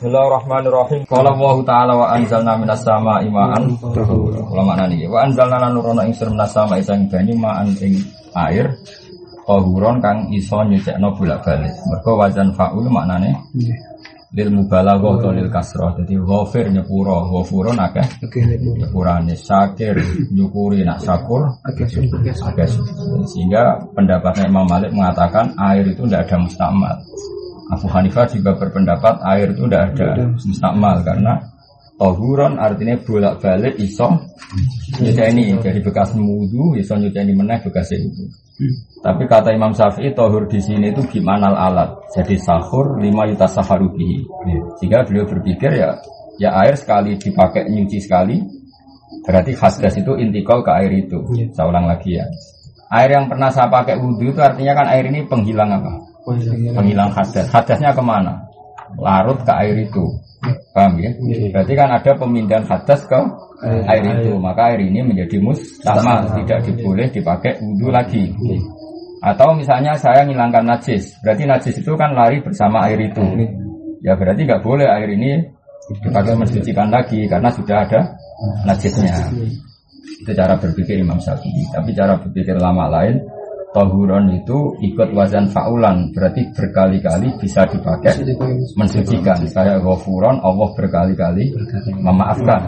Bismillahirrahmanirrahim. Qala Allahu ta'ala wa anzalna minas samaa'i ma'an tahura. Kula maknani wa anzalna lan nurono ing sira minas samaa'i sang banyu ma'an ing air tahuron kang iso nyucekno bolak-balik. Mergo wajan fa'ul maknane lil mubalaghah atau lil kasrah. Dadi ghafir nyepuro, ghafurun akeh nyepurane, syakir nyukuri, nak syakur akeh. Sehingga pendapatnya Imam Malik mengatakan air itu tidak ada mustakmal. Abu Hanifah juga berpendapat air itu tidak ada mustakmal karena tahuron artinya bolak-balik iso nyuceni dari bekas wudu iso nyuceni meneh bekas wudu. Tapi kata Imam Syafi'i tahur di sini itu gimana alat. Jadi sahur 5 yutasahharu bihi. Sehingga beliau berpikir ya air sekali dipakai nyuci sekali berarti hadas itu intikal ke air itu. Saya ulang lagi ya. Air yang pernah saya pakai wudu itu artinya kan air ini penghilang apa? Penghilang hadas. Hadasnya kemana? Larut ke air itu. Paham ya? Berarti kan ada pemindahan hadas ke air itu. Maka air ini menjadi mustakmal, tidak diboleh dipakai wudu lagi. Atau misalnya saya ngilangkan najis, berarti najis itu kan lari bersama air itu. Ya berarti nggak boleh air ini dipakai mensucikan lagi karena sudah ada najisnya. Itu cara berpikir Imam Syafi'i. Tapi cara berpikir ulama lain, tahuron itu ikut wazan fa'ulan, berarti berkali-kali bisa dipakai mensucikan. Kayak ghafuron, Allah berkali-kali memaafkan.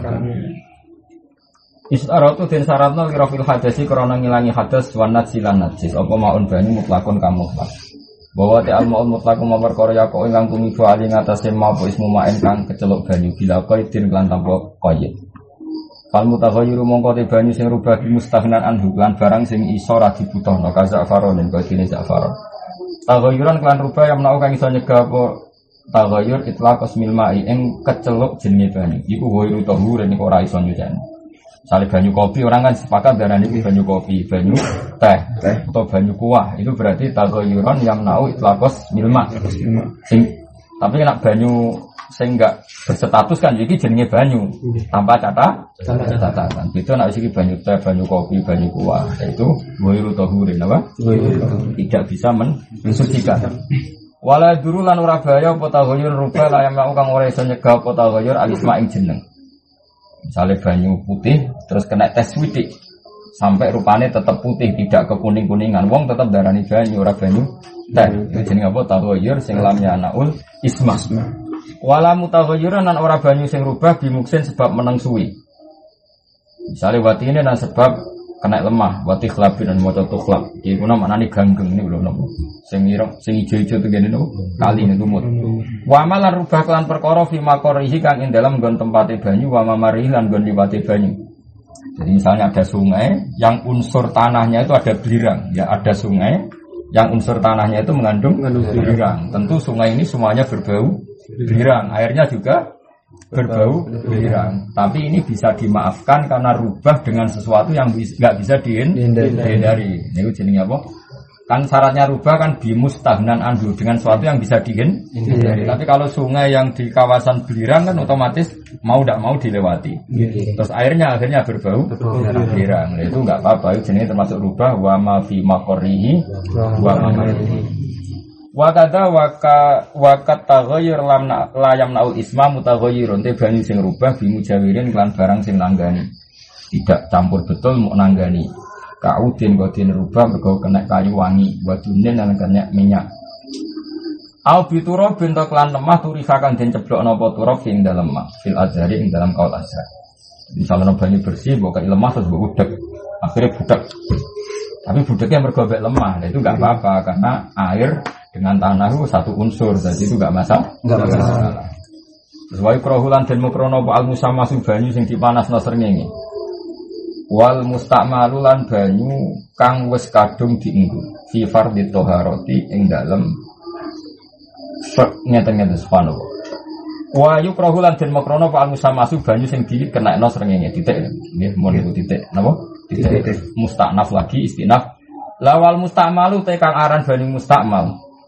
Istaratu den syaratna wirafil hadasi karena ngilangi hadas wan najsilan najis. Apa maun banyu mutlakun kamu mutlak. Bahwa ta'al maun mutlakum perkara yaqo ingkang tumibu ali ngatasé maupun ismu ma'en kang keceluk banyu bila qaidin lan tanpa qaid. Fal mutaghayyiru mongko te banyu sing rubah mustaghnan anhu lan barang sing iso ra dibutuhno kaza faronen kaya dene zafaron. Taghayyuran lan rubah yang menawa kang iso nyegah apa taghayyur itlaqas mil ma'i ing keceluk jenenge banyu. Iku ghairu tahur nek ora iso nyuceni. Misalnya banyu kopi, orang kan sepakat darani banyu kopi, banyu teh atau banyu kuah. Itu berarti taghayyuran yang nau itlaqas mil ma'. Tapi nek banyu sing enggak berstatus kan iki jenenge banyu tanpa catatan. Itu nek iki banyu teh, banyu kopi, banyu kuah, itu ghairu tahurin apa? Tidak bisa mensucikan. Wala duru lan ora bahaya apa taghayyur rubah la yang kang ora iso nyegah apa taghayyur alisma ing jeneng. Misalnya banyu putih terus kena tes widik sampai rupanya tetap putih tidak ke kuning-kuningan, wong tetap darani banyu ora banyu teh. Itu jenenge apa? Taghayyur sing lamnya naul isma. Wala mutaghayyuran lan ora banyu sing rubah bimuksin sebab meneng suwi. Misalnya wati ini dan sebab kena lemah, wati khlabin dan maca tukhlab. Iki kuna maknane ganggeng ini lho napa. Sing ireng, sing ijo-ijo tegene napa? Kali niku mut. Wa malan rubah kelan perkara fi maqarihi kang ing dalem nggon tempate banyu wa mamarihi lan nggon liwate banyu. Jadi misalnya ada sungai yang unsur tanahnya itu ada belirang, ya ada sungai yang unsur tanahnya itu mengandung belirang. Tentu sungai ini semuanya berbau belirang, airnya juga berbau belirang. Tapi ini bisa dimaafkan karena rubah dengan sesuatu yang nggak bisa dihindari. Ini jenenge apa? Kan syaratnya rubah kan bimustahnan anhu dengan sesuatu yang bisa dihindari. Tapi kalau sungai yang di kawasan belirang kan otomatis mau tidak mau dilewati. Terus airnya akhirnya berbau belirang. Itu nggak apa-apa. Itu jenenge termasuk rubah wa ma fi maqarihi wa ma marihi. Wa kadza wa kat taghayyur la yamna'ul isma mutaghayyirun te banyu sing rubah bimujawirin lan barang sing nanggani. Tidak campur betul mau nanggani. Kaudin kodin rubah mergo kena kayu wangi, wadunen lan kena minyak. Au bituro bentuk lan lemah turifakan den ceblokno apa turab ing dalem lemah fil azhari ing dalam kaul azhar. Misalnya banyu bersih mbok kaya lemah terus mbok udek. Akhirnya budak. Tapi budeknya mergo lemah, nah itu enggak apa-apa karena air dengan tanah itu satu unsur, jadi itu enggak masalah. Terus wa ikrahulan den mukrono al musammasu banyu sing dipanasno srengenge. Wal musta'malu lan banyu kang wis kadung dienggo fi fardhi thaharati ing dalem ngeten-ngeten subhanallah. Wa yukrahu lan den makrono fa musamasu banyu sing dikenekno srengenge titik nggih mun niku titik napa titik musta'naf lagi istinaf. La wal musta'malu te kang aran banyu musta'mal.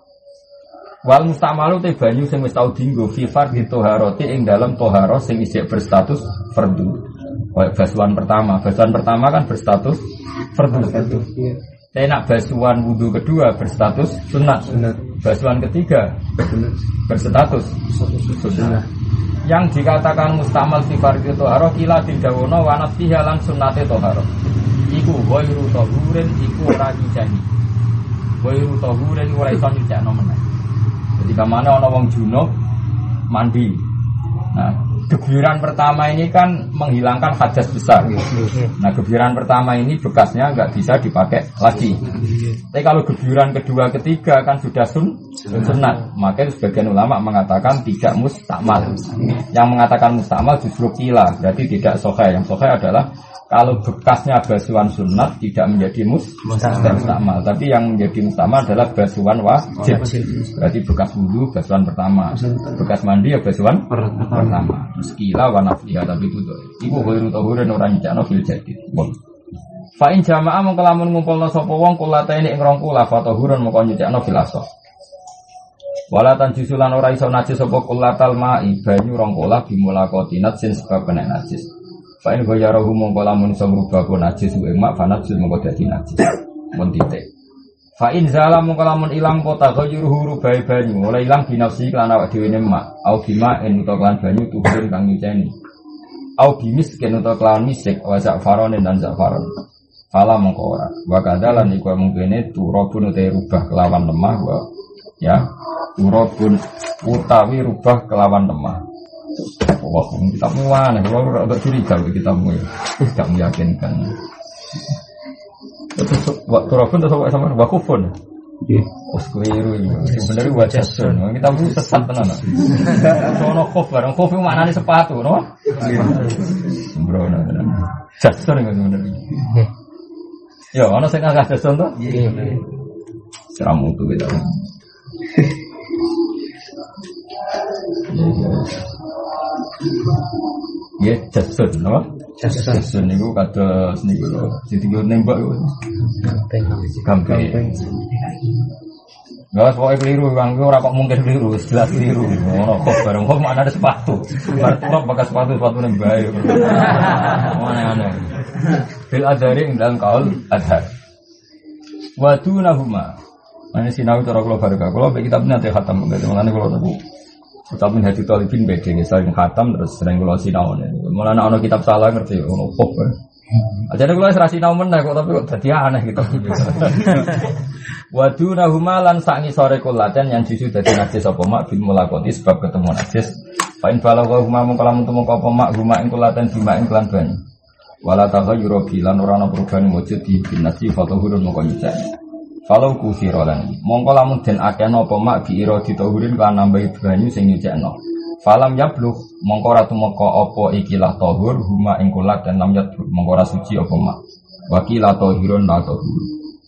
Wal musta'malu te banyu sing wis tau dienggo fi fardhi thaharati ing dalem thaharah sing isih berstatus fardhu. Basuhan pertama kan berstatus fardu. Tapi nak basuhan wudu kedua berstatus sunat. basuhan ketiga berstatus sunnah. Yang dikatakan mustamal fi fardhi thaharah kila didawono wa nafsiha lan sunnate thaharah. Iku ghairu tahurin iku ora nyuceni. Ghairu tahurin ora iso nyucekno meneh. Jadi kamane ana wong junub mandi. Nah, gebiran pertama ini kan menghilangkan hadas besar. Nah, gebiran pertama ini bekasnya nggak bisa dipakai lagi. Tapi kalau gebiran kedua, ketiga kan sudah sunat. Maka sebagian ulama mengatakan tidak mustakmal. Yang mengatakan mustakmal justru kila, berarti tidak sahih. Yang sahih adalah kalau bekasnya basuhan sunat tidak menjadi mustakmal, tapi yang menjadi mustakmal adalah basuhan wajib. Berarti bekas wudu basuhan pertama, bekas mandi ya basuhan pertama. Terus kila wa nafiha, tapi itu ghairu tahurin ora nyakno fil jadid. Fa in jamaah mongko lamun ngumpulna sapa wong kulatene ing rong kula fa tahurun mongko nyakno fil asah. Walatan jusulan ora iso najis sapa kulatal ma'i banyu rong kula bimulakotinat sin sebab kena najis. Fa'in ghayarahu mongko lamun iso ngrubah najis ing mak fanajis mongko dadi najis. Mun titik. Fa'in zalam mongko lamun ilang kota ghayruhu rubai banyu, oleh ilang binafsi lan awak dhewe ne mak, au bima en utawa lan banyu tuburin kang nyuceni. Au bimis ken utawa lan misik wa za'faron dan za'faron. Fala mongko ora. Wa kadalan iku mungkene turabun utawa rubah kelawan lemah wa ya. Turabun utawi rubah kelawan lemah. Wah, kitabmu mana? Kalau agak curiga kitabmu ya, tidak meyakinkan. Waktu rokun atau sama wakufun? Oh, keliru ini. Sebenarnya wajah sun. Kitabmu sesat tenan. Sono kof barang kof mana nih sepatu, no? Sembrono. Jason nggak sebenarnya. Ya, mana saya nggak jason tuh? Seramu tuh kita. Ya, jasun, apa? Jasun itu kata seni guru. Jadi guru nembak itu. Gampang. Gak pokoknya keliru, bang. Orang kok mungkin keliru, jelas keliru. Orang kok bareng kok mana ada sepatu. Berarti kok pakai sepatu nembak. Mana. Bil adari dalam kaul adhar. Wadu nahuma. Ini sinau cara kalau baru kalau kita punya teh khatam, bagaimana kalau tahu? Ucapin hati talibin beda, sering khatam terus sering kalau sinau nih. Malah anak kitab salah ngerti, ono pop. Aja kalau serasi sinau meneh kok tapi kok jadi aneh gitu. Wadu nahuma lan sangi sore kulaten yang justru jadi najis apa mak bil mulakoti sebab ketemu najis. Pain balagha huma mung kalamun temu apa mak huma ing kulaten bima ing kelan banyu. Wala taghayyuru bilan ora ana perubahan wujud di binasi fatahurun moko nyicani. Kalau kusirolan, mongko lamun den akeh napa mak biiro ditahurin kan nambahi banyu sing nyucekno. Falam yablugh mongko ora tumeka apa ikilah tahur huma ing kulat dan lam yablugh mongko ora suci apa mak. Wakilah tahirun la tahur.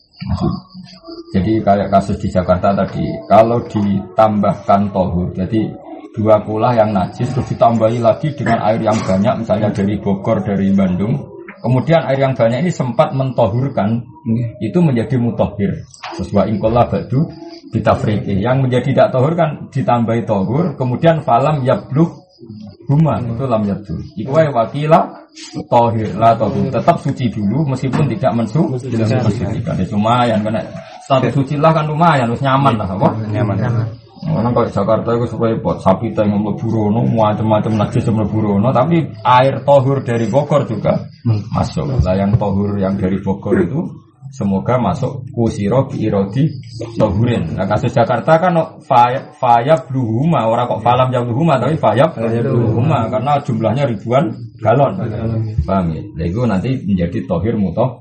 Jadi kayak kasus di Jakarta tadi, kalau ditambahkan tahur, jadi dua kulah yang najis terus ditambahi lagi dengan air yang banyak misalnya dari Bogor, dari Bandung. Kemudian air yang banyak ini sempat mentohurkan, itu menjadi mutahhir. Terus wa ingkola ba'du bitafriqi. Yang menjadi tidak tohur kan ditambahi tohur, kemudian falam yablugh huma itu lam yabdu. Iku wae wakila tohir la tohur. Tetap suci dulu meskipun tidak mensucikan. Lumayan karena status suci lah kan lumayan, harus nyaman lah, apa? Nyaman. Orang kalau Jakarta itu supaya buat sapi tengok leburono, macam-macam najis leburono, tapi air tohur dari Bogor juga masuk. Lah yang tohur yang dari Bogor itu semoga masuk kusiro biirodi tohurin. Nah kasus Jakarta kan fayab bluhuma, orang kok falam jam bluhuma, tapi fayab bluhuma karena jumlahnya ribuan galon. Paham ya? Nah itu nanti menjadi tohir mutoh.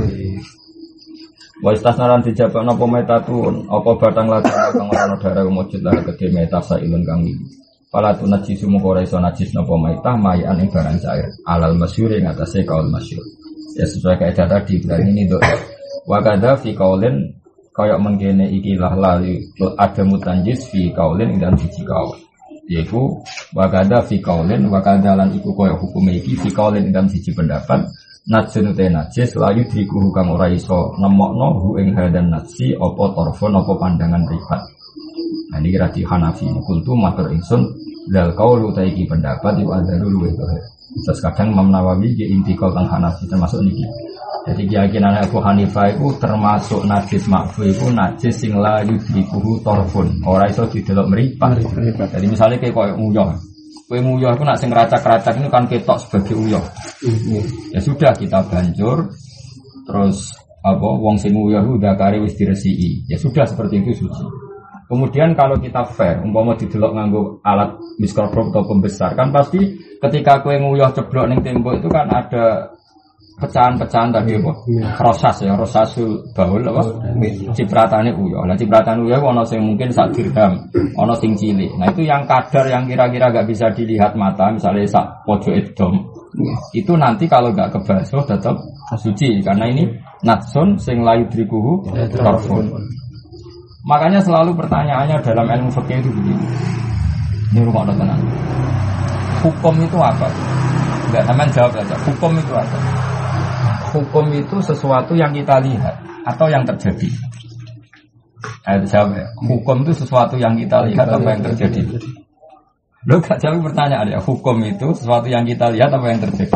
Wa istasnaran dijabak napa metatun apa batang latar kang ora ana darah mujud lah kedhe meta sailun kang iki. Pala tu najis mung ora iso najis napa metah mayan ing barang cair. Alal masyhur ing atase kaul masyhur. Ya sesuai kaidah tadi berarti ini nduk. Wa kadza fi qaulin kaya mengkene iki lah lali ada mutanjis fi qaulin ing dalam siji kaul. Yaiku wa kadza fi qaulin wa kadzalan iku kaya hukum iki fi qaulin ing dalam siji pendapat. Najsun te najis layu dikuhu kang ora iso nemokno hu ing hadan najsi apa torfon apa pandangan ribat. Nah ini kira di Hanafi kultu matur ingsun dal qaulu ta iki pendapat iku adzarul wa. Terus kadang Imam Nawawi ge intikal teng Hanafi termasuk niki. Jadi keyakinan Abu Hanifah itu termasuk najis makfu itu najis sing la yudrikuhu torfun. Ora iso didelok mripat. Jadi misalnya kayak koyo uyah. Kowe uyah itu nak sing racak-racak ini kan ketok sebagai uyah. Ya sudah kita banjur terus apa wong sing uyah itu udah kare wis diresiki. Ya sudah seperti itu suci. Kemudian kalau kita fair, umpama didelok nganggo alat mikroskop atau pembesar kan pasti ketika kowe nguyah ceblok ning tembok itu kan ada pecahan-pecahan tadi apa? Rosas ya, rosasul baul apa? Cipratane uyah. Lah cipratane uyah ana sing mungkin sak dirham, ana sing cilik. Nah itu yang kadar yang kira-kira enggak bisa dilihat mata, misalnya sak pojok edom. Itu nanti kalau enggak kebasuh tetap suci karena ini natsun sing la yudrikuhu tarfun. Makanya selalu pertanyaannya dalam ilmu fikih itu begini. Ini rumah tenang. Hukum itu apa? Enggak, teman jawab saja. Hukum itu apa? Hukum itu sesuatu yang kita lihat atau yang terjadi. Ayo jawab ya. Hukum itu sesuatu yang kita lihat apa yang terjadi? Lo gak jawab pertanyaan ya. Hukum itu sesuatu yang kita lihat apa yang terjadi?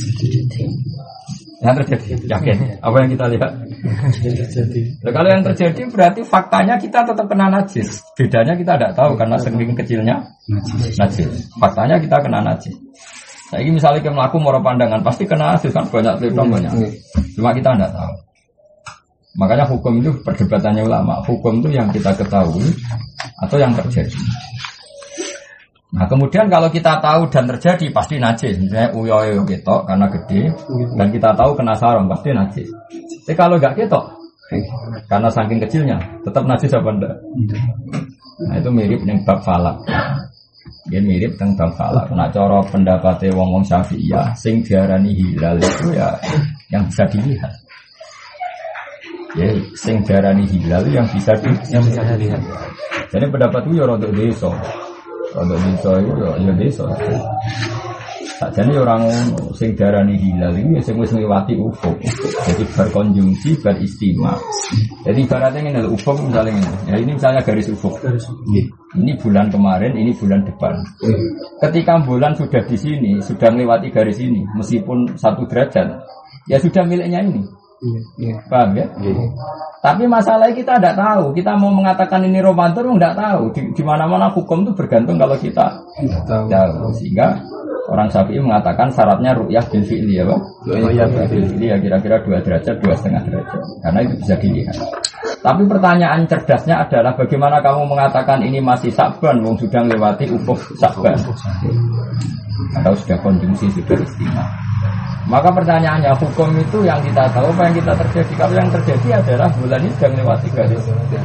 Yang terjadi, yakin? Apa yang kita lihat? Nah, kalau yang terjadi berarti faktanya kita tetap kena najis. Bedanya kita tidak tahu karena saking kecilnya najis. Faktanya kita kena najis. Nah, ini misalnya kita melakukan moro pandangan pasti kena najis kan banyak telitong banyak. Cuma kita tidak tahu. Makanya hukum itu perdebatannya ulama. Hukum itu yang kita ketahui atau yang terjadi. Nah kemudian kalau kita tahu dan terjadi pasti najis. Misalnya uyoyo ketok karena gede dan kita tahu kena sarung pasti najis. Tapi kalau enggak ketok karena saking kecilnya tetap najis apa enggak? Nah itu mirip dengan bab falak. Dia mirip dengan bab falak. Nah cara pendapatnya wong-wong Syafi'iyah sing diarani hilal itu ya yang bisa dilihat. Ya sing diarani hilal yang bisa dilihat. Jadi pendapat itu ya rodok desa. Kalau desa itu ya desa. Sakjane orang sing darani hilal iki sing wis ngliwati ufuk. Jadi berkonjungsi, beristima. Jadi ibaratnya ngene lho, ufuk misalnya ngene. Ya ini misalnya garis ufuk. Ini bulan kemarin, ini bulan depan. Ketika bulan sudah di sini, sudah melewati garis ini, meskipun 1 derajat, ya sudah miliknya ini. Paham ya? Tapi masalahnya kita tidak tahu. Kita mau mengatakan ini Ramadan tidak tahu. Di mana-mana hukum itu bergantung kalau kita tahu. Sehingga orang Syafi'i mengatakan syaratnya ru'yah bil fi'li ya, Pak. Ru'yah bil fi'li ya kira-kira 2 derajat, 2,5 derajat. Karena itu bisa dilihat. Tapi pertanyaan cerdasnya adalah bagaimana kamu mengatakan ini masih Sa'ban wong sudah melewati ufuk Sa'ban. Atau sudah konjungsi, sudah istimewa. Maka pertanyaannya hukum itu yang kita tahu apa yang kita terjadi. Kalau yang terjadi adalah bulan ini sudah melewati garis.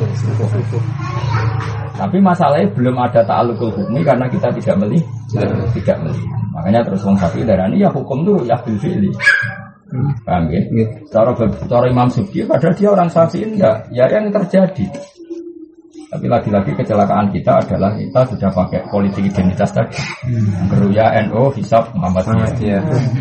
Tapi masalahnya belum ada ta'alluqul hukmi karena kita tidak melihat. Makanya terus wong Syafi'i darani ya hukum itu ya bil fi'li. Paham ya? Cara Imam Subki padahal dia orang Syafi'i enggak, ya yang terjadi. Tapi lagi-lagi kecelakaan kita adalah kita sudah pakai politik identitas tadi. Geruya NU hisab Muhammadiyah.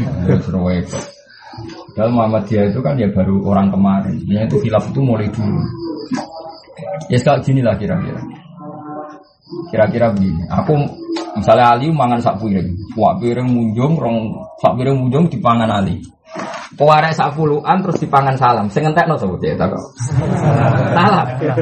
Padahal Muhammadiyah itu kan ya baru orang kemarin. Sebenarnya itu khilaf itu mulai dulu. Ya sekali gini lah kira-kira. Kira-kira begini. Aku misalnya Ali mangan sak piring. Wak piring munjung, sak piring munjung dipangan Ali. Kuarek sak puluhan terus dipangan salam. Sing entekno sapa cek tak kok. Salam.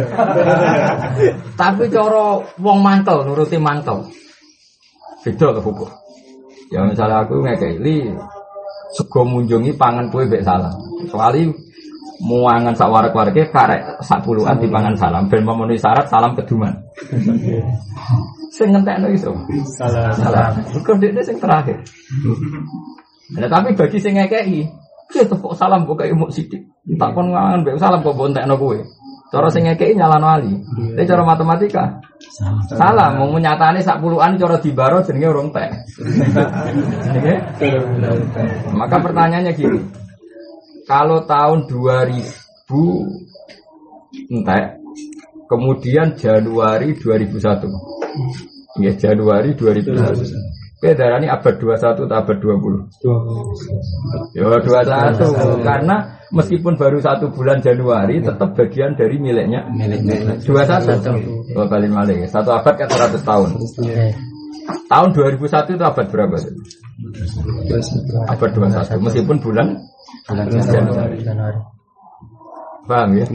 Tapi cara wong mangkel nuruti mangkel. Beda to hukum. Ya misalnya aku ngekeki li sego munjungi pangan kowe mbek salam. Soale muangan sak warek-wareke karek sak puluhan dipangan salam ben memenuhi syarat salam keduman. Sing entekno iso. Salam. Kok dekne sing terakhir. Nah, tapi bagi sing ngekeki kita kok salam kok kayak umuk sidik. Tak kon ngangan mbek salam kok bontekno kowe. Cara sing ngekeki nyalano ali. Tapi cara matematika salam mau nyatane sak puluhan cara dibaro jenenge urung tek. Maka pertanyaannya gini. Kalau tahun 2000 entek kemudian Januari 2001. Ya Januari 2001. Beda ini abad 21 atau abad 20? Ya 21 karena meskipun baru 1 bulan Januari tetap bagian dari miliknya 21. Oh balik malik. 1 abad kan 100 tahun. Tahun 2001 itu abad berapa? Abad 21 meskipun bulan bulan Januari. Paham ya?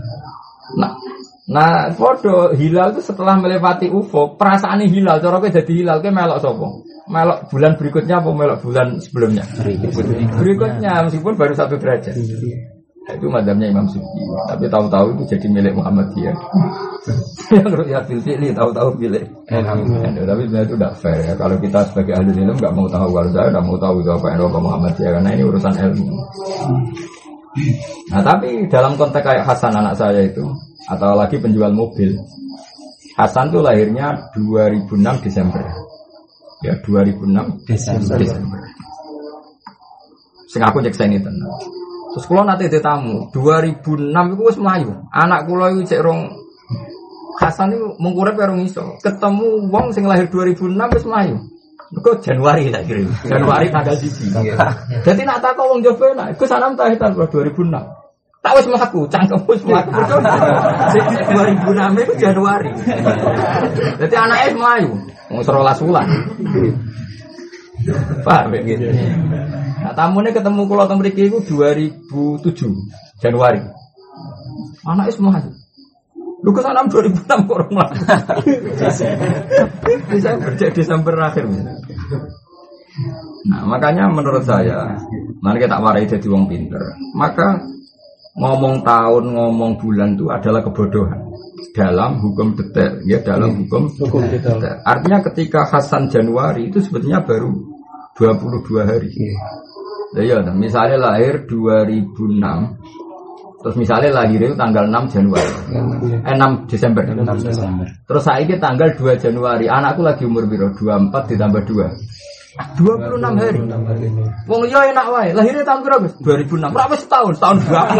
Nah, podo hilal itu setelah melewati ufuk, perasaan hilal, cara kowe jadi hilal kowe melok sapa? Melok bulan berikutnya apa melok bulan sebelumnya? Berikutnya meskipun baru 1 derajat. Itu madhabnya Imam Sufyan. Tapi tahu-tahu itu jadi milik Muhammadiyah. Yang Ru'yat fil fi'li tahu-tahu milik. Tapi sebenarnya itu tidak fair ya. Kalau kita sebagai ahli ilmu nggak mau tahu, kalau saya nggak mau tahu itu apa yang Muhammadiyah karena ini urusan ilmu. Nah tapi dalam konteks kayak Hasan anak saya itu, atau lagi penjual mobil, Hasan tuh lahirnya 2006 Desember. Ya 2006 Desember. Sing aku cek saya tenang. Terus kula nate tamu 2006 iku wis mlayu. Anak kula iku cek rong Hasan iku mung urip karo iso. Ketemu wong sing lahir 2006 wis mlayu. Mergo Januari tak kirim. Januari tanggal 1. Dadi nak takok wong Jawa nak iku sanam ta hitan 2006. Tak wis mlaku, cangkem wis mlaku. 2006 iku Januari. Dadi anake mlayu. Wong 12 wulan. Paham gitu. Nah, tamune ketemu kula teng mriki iku 2007 Januari. Anake semua. Lu kesana 2006 kok ora mlaku. Bisa kerja Desember akhir. Nah, makanya menurut saya, mari kita warai jadi wong pinter. Maka ngomong tahun, ngomong bulan itu adalah kebodohan dalam hukum detail, ya dalam hukum detail. Artinya ketika Hasan Januari itu sebetulnya baru 22 hari. Ya, misalnya lahir 2006, terus misalnya lahir itu tanggal 6 Januari, 6 Desember. Terus saya ini tanggal 2 Januari, anakku lagi umur biro 24 ditambah 2, 26 hari. Wong yo enak wae, lahirnya tahun berapa? 2006. Berapa setahun berapa?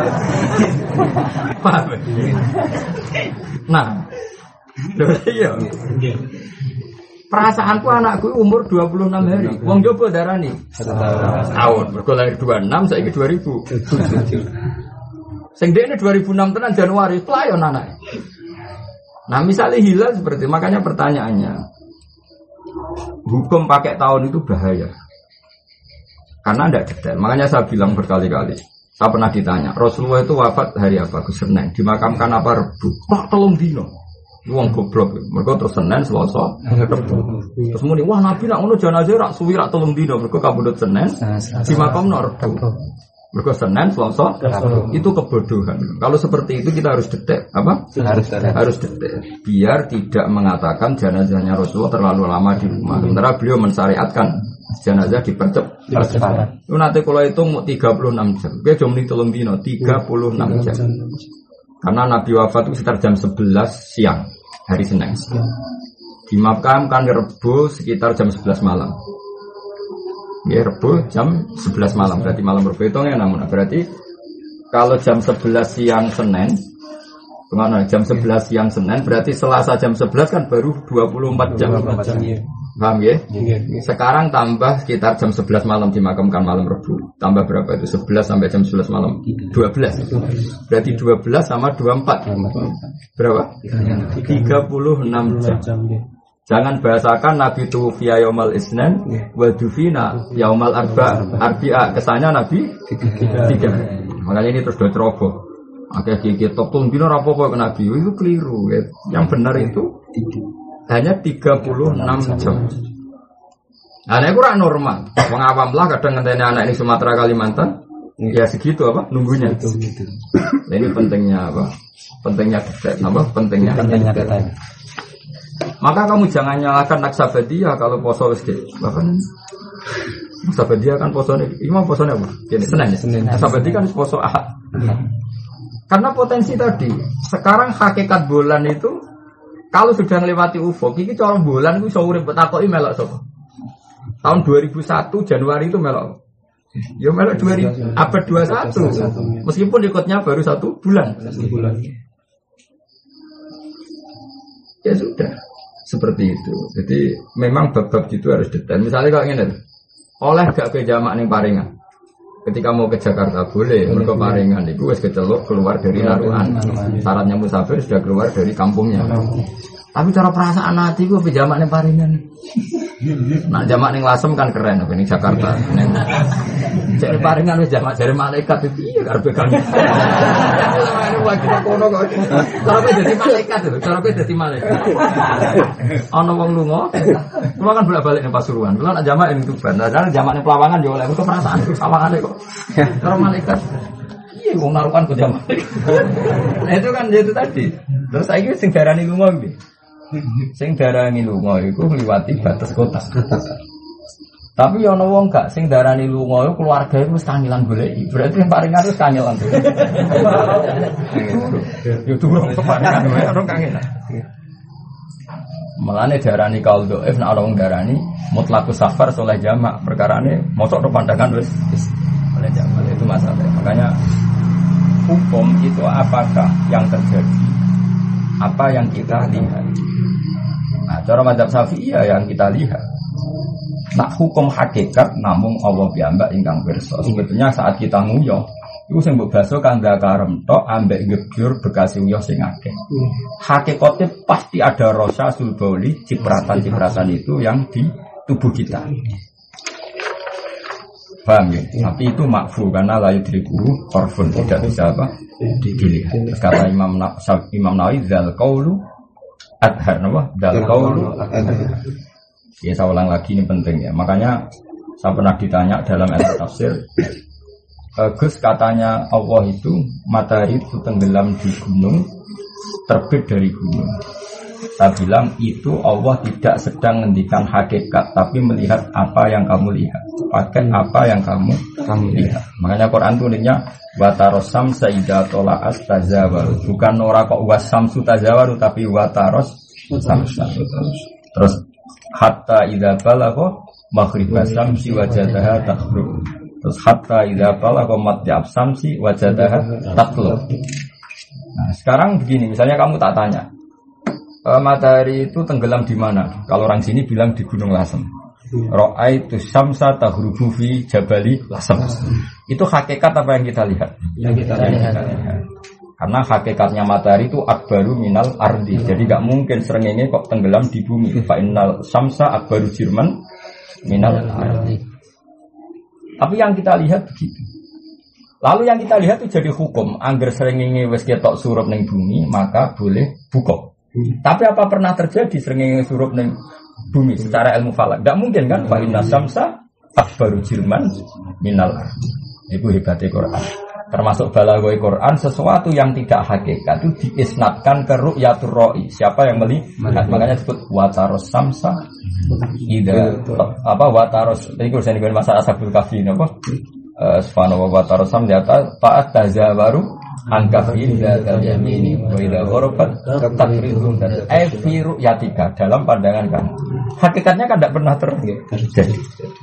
Paham? Nah, iya. Perasaanku anakku umur 26 hari. Wong jopo darani setahun. Mergo lahir 26, saiki 2000. Sing dekne 2006 tenan Januari, pelayon anake. Nah, misalnya hilal seperti makanya pertanyaannya, hukum pakai tahun itu bahaya. Karena tidak detail. Makanya saya bilang berkali-kali. Saya pernah ditanya, Rasulullah itu wafat hari apa? Ke Senin. Dimakamkan apa? Rebu. Pak, tolong dino. Wong goblok, mereka terus Senin, Selasa, Rebu. Terus muni, wah Nabi nak ngono jenazah rak suwi rak telung dino, mereka kabudut Senin, di makam nak Rebu. Mereka Senin, Selasa, itu kebodohan. Kalau seperti itu kita harus detek, apa? Harus detek, biar tidak mengatakan jenazahnya Rasulullah terlalu lama di rumah. Sementara beliau mensyariatkan jenazah dipercepat. Itu nanti kalau itu 36 jam, dia cuma telung dino, 36 jam. Karena Nabi wafat itu sekitar jam 11 siang hari Senin. Dimakamkan Rebu sekitar jam 11 malam. Ya Rebu jam 11 malam. Berarti malam Rebu itu namun berarti kalau jam 11 siang Senin, kemana? Jam 11 siang Senin berarti Selasa jam 11 kan baru 24 jam. Paham ya? Sekarang tambah sekitar jam 11 malam dimakamkan malam Rebu. Tambah berapa itu? 11 sampai jam 11 malam. 12. Berarti 12 sama 24. Berapa? 36 jam. Jangan bahasakan Nabi tuwfiya yaumal isnin wa dufina yaumal arba'a. Kesannya Nabi 3. Makanya ini terus do ceroboh. Akeh iki tok tung dino ra apa-apa ke Nabi. Itu keliru. Yang benar itu hanya 36 jam. Nah, ini kurang normal. Wong awam lah kadang ngenteni anak ini Sumatera Kalimantan, ya segitu apa nunggunya. Nah, ini pentingnya apa? Pentingnya detek, apa? Pentingnya detek. Maka kamu jangan nyalakan Naksabadiyah kalau poso wis gitu. Bahkan Naksabadiyah kan posone, imam posone apa? Senin. Naksabadiyah kan poso Ahad. Karena potensi tadi, sekarang hakikat bulan itu kalau sudah melewati ufuk, ini cara bulan itu bisa urip betakoki melok sapa. Tahun 2001 Januari itu melok. Ya melok 2000 abad 21. Meskipun ikutnya baru 1 bulan. Ya sudah. Seperti itu. Jadi memang bab-bab itu harus detail. Misalnya kalau ingin oleh gak ke jamak ning Paringan. Ketika mau ke Jakarta boleh, mereka Paringan itu wis kecelok keluar dari Naruan. Syaratnya musafir sudah keluar dari kampungnya. Tapi cara perasaan hati gue pejamak nih paringan. Nah jamak nih Lasem kan keren, ini Jakarta. Jadi paringan wis jamak dari malaikat itu iya karpe kan. Cara gue jadi malaikat itu, cara gue jadi malaikat. Ono wong lunga, cuma kan bolak-balik ning Pasuruan. Kalau nak jamak ini tuh benar, karena jamak ning Pelawangan yo oleh perasaan sawangane kok. Cara malaikat. Iya wong narukan ke jamak. Nah itu kan itu tadi. Terus saiki sing darani lunga piye? Sing darani lunga iku ngliwati batas kota. Tapi ana wong gak sing darani lunga iku keluargae wis kangelan goleki. Berarti yang paringan wis kangelan. Yo durung keparingan wae ora kangelan. Mulane darani kaul dhaif nek ana wong darani mutlaqus safar soleh jamak, perkarane mosok pandangan wis oleh jamak itu masalah. Makanya hukum itu apakah yang terjadi? Apa yang kita lihat? Nah, cara mazhab Syafi'iyah yang kita lihat. Nah, hukum hakikat namung Allah piyambak ingkang pirsa. Sebetulnya saat kita nguyah, iku sing mbok baso kang dakarem tok ambek gebyur bekas nguyah sing akeh. Hakikate pasti ada rasa sulbauli, cipratan-cipratan itu yang di tubuh kita. Paham ya? Tapi itu makfu karena layu diriku korfun tidak bisa apa? Dilihat. Terus kata Imam Nawawi zal qaulu adhar napa? Zal qaulu adhar. Ya saya ulang lagi ini penting ya. Makanya saya pernah ditanya dalam ilmu tafsir, Gus katanya Allah itu matahari itu tenggelam di gunung, terbit dari gunung. Saya bilang itu Allah tidak sedang menghentikan hakikat, tapi melihat apa yang kamu lihat, pakai apa yang kamu lihat. Makanya Quran tulisnya wataros samsa idza tola'at tazawaru, bukan ora kok wasamsu tazawaru, tapi wataros samsa. Terus hatta idza balagha maghribas samsi wajadaha taghrub. Terus hatta idza balagha matla'ab samsi wajadaha tatlub. Nah, sekarang begini, misalnya kamu tak tanya, matahari itu tenggelam di mana? Kalau orang sini bilang di Gunung Lasem. Ra'aitu syamsa taghrubu fi jabali Lasem. Itu hakikat apa yang kita lihat? Yang kita lihat. Karena hakikatnya matahari itu akbaru minal ardi. Jadi enggak mungkin srengenge kok tenggelam di bumi. Fa innal syamsa akbaru jirman minal ardi. Tapi yang kita lihat begitu. Lalu yang kita lihat itu jadi hukum. Angger srengenge wis ketok surup ning bumi, maka boleh buka. Tapi apa pernah terjadi srengenge surup ning bumi secara ilmu falak? Enggak mungkin kan? Fa inna syamsa akbaru jirman minal ardi. Itu hebatnya Quran. Termasuk balaghoi Quran, sesuatu yang tidak hakikat itu diisnadkan ke ru'yatur ra'i. Siapa yang melihat? Makanya disebut wataros samsa. Ida apa wataros? Ini kalau saya masalah Ashabul Kahfi apa? Subhanahu wa ta'ala sam data ta'at tazawaru angkafin dal yamini wa idza gharabat takridun dan fi ru'yatika dalam pandangan kamu. Hakikatnya kan tidak pernah terjadi.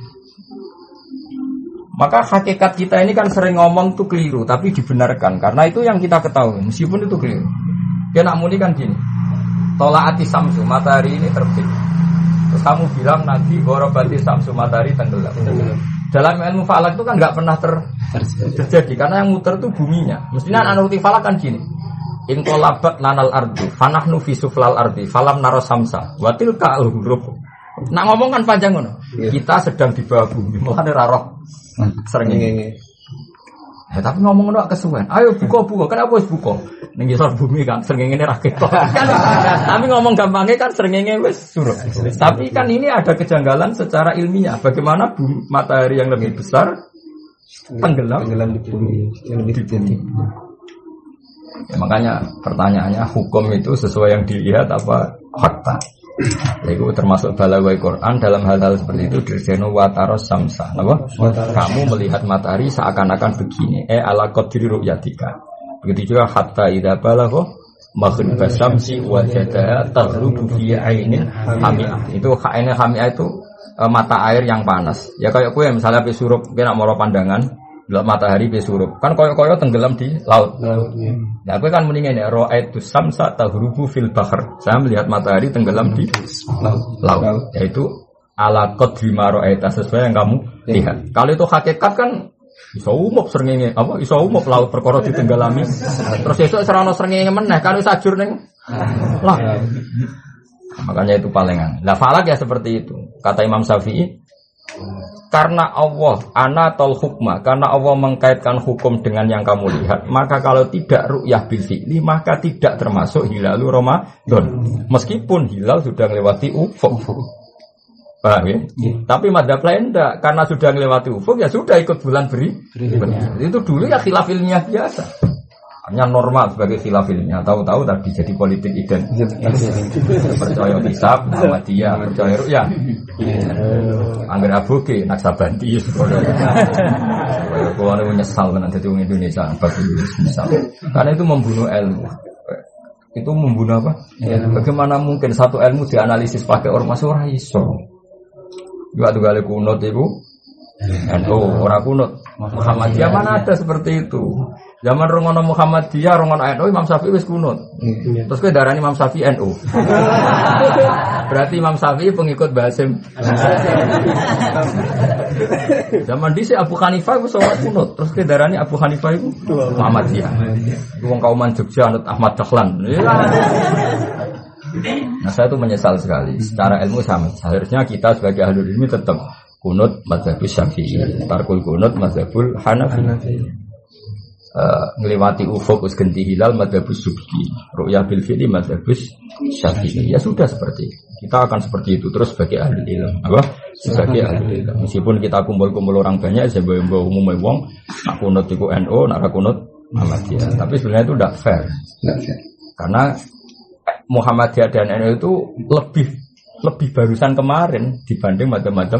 Maka hakikat kita ini kan sering ngomong tuh keliru, tapi dibenarkan karena itu yang kita ketahui, meskipun itu keliru. Ya nak muni kan gini, tolaati samsu, matahari ini terbit. Terus kamu bilang nanti gorobati samsu, matahari tenggelam. Dalam ilmu falak itu kan nggak pernah terjadi karena yang muter itu buminya. Mestinya anuti falak kan gini, intolabat lanal ardi, fanahnu fisuflal ardi, falam naros samsa, watil ka'al-huruf. Nak ngomong kan panjang ngono. Kita sedang di bawah bumi, makanya raro sering ini. Ya, tapi ngomong ngono kesuwen. Ayo buka. Kenapa harus buka? Ning ngisor bumi kan sering ini rakyat. Tapi ngomong gampangnya kan sering ini wis suruh. Tapi kan ini ada kejanggalan secara ilmiah. Bagaimana matahari yang lebih besar tenggelam di bumi yang lebih tinggi. Ya, makanya pertanyaannya hukum itu sesuai yang dilihat apa fakta? Itu termasuk balaghoi Quran dalam hal-hal seperti itu dirjeno wataros samsa. Apa? Kamu melihat matahari seakan-akan begini. Ala qadri ru'yatika. Begitu juga hatta idza balagha maghribas samsi wajadaha taghrubu fi ainin hami'ah. Itu ainin hami'ah itu mata air yang panas. Ya kayak kowe misalnya pe surup kena moro pandangan delok matahari pe surup. Kan koyo-koyo tenggelam di laut. Nah, aku kan mendingin ya ra'aitu samsa taghrubu fil bahr. Saya melihat matahari tenggelam di laut. Yaitu ala qadri ma ra'aita sesuai yang kamu lihat. Kalau itu hakikat kan iso umup srengenge apa iso umup laut perkara ditenggelami. Terus esuk serana srengenge meneh kan wis ajur ning lah. Makanya itu palingan. Lah falak ya seperti itu. Kata Imam Syafi'i, karena Allah anatal hukma, karena Allah mengkaitkan hukum dengan yang kamu lihat, maka kalau tidak ru'yah bil fi'li, maka tidak termasuk hilalu Ramadan. Meskipun hilal sudah melewati ufuk. Paham ya? Tapi madzhab lain enggak, karena sudah melewati ufuk ya sudah ikut bulan berikutnya. Itu dulu ya khilaf ilmiah biasa. Hanya normal sebagai khilaf ilmiah. Tahu-tahu tadi jadi politik identitas. Percaya hisab, Muhammadiyah, percaya ru'yah. Angger aboge Naksabandi. Kalau ada menyesal kan jadi orang Indonesia, menyesal. Karena itu membunuh ilmu. Itu membunuh apa? Bagaimana mungkin satu ilmu dianalisis pakai ormas ora iso? Juga tuh kali kunut itu. NU orang kunut. Muhammadiyah mana ada seperti itu? Zaman rongono Muhammadiyah, rongono NU, Imam Syafi'i wis kunut. Terus kowe darani Imam Syafi'i NU. Berarti Imam Syafi'i pengikut Basim. Zaman dhisik Abu Hanifah wis salat kunut. Terus kowe darani Abu Hanifah itu Muhammadiyah. Wong kauman Jogja anut Ahmad Dahlan. Nah, saya itu menyesal sekali. Secara ilmu sama. Seharusnya kita sebagai ahli ilmu tetap kunut mazhabus Syafi'i, tarkul kunut mazhabul Hanafi. Ngelewati ufuk us ganti hilal mazhabus Subki, ru'yah bil fi'li mazhabus Syafi'i. Ya sudah seperti itu. Kita akan seperti itu terus sebagai ahli ilmu. Apa? Sebagai ahli ilmu. Meskipun kita kumpul-kumpul orang banyak, saya bawa umum wong, nak kunut iku NU, nak kunut Muhammadiyah. Tapi sebenarnya itu tidak fair. Karena Muhammadiyah dan NU itu lebih barusan kemarin dibanding macam-macam.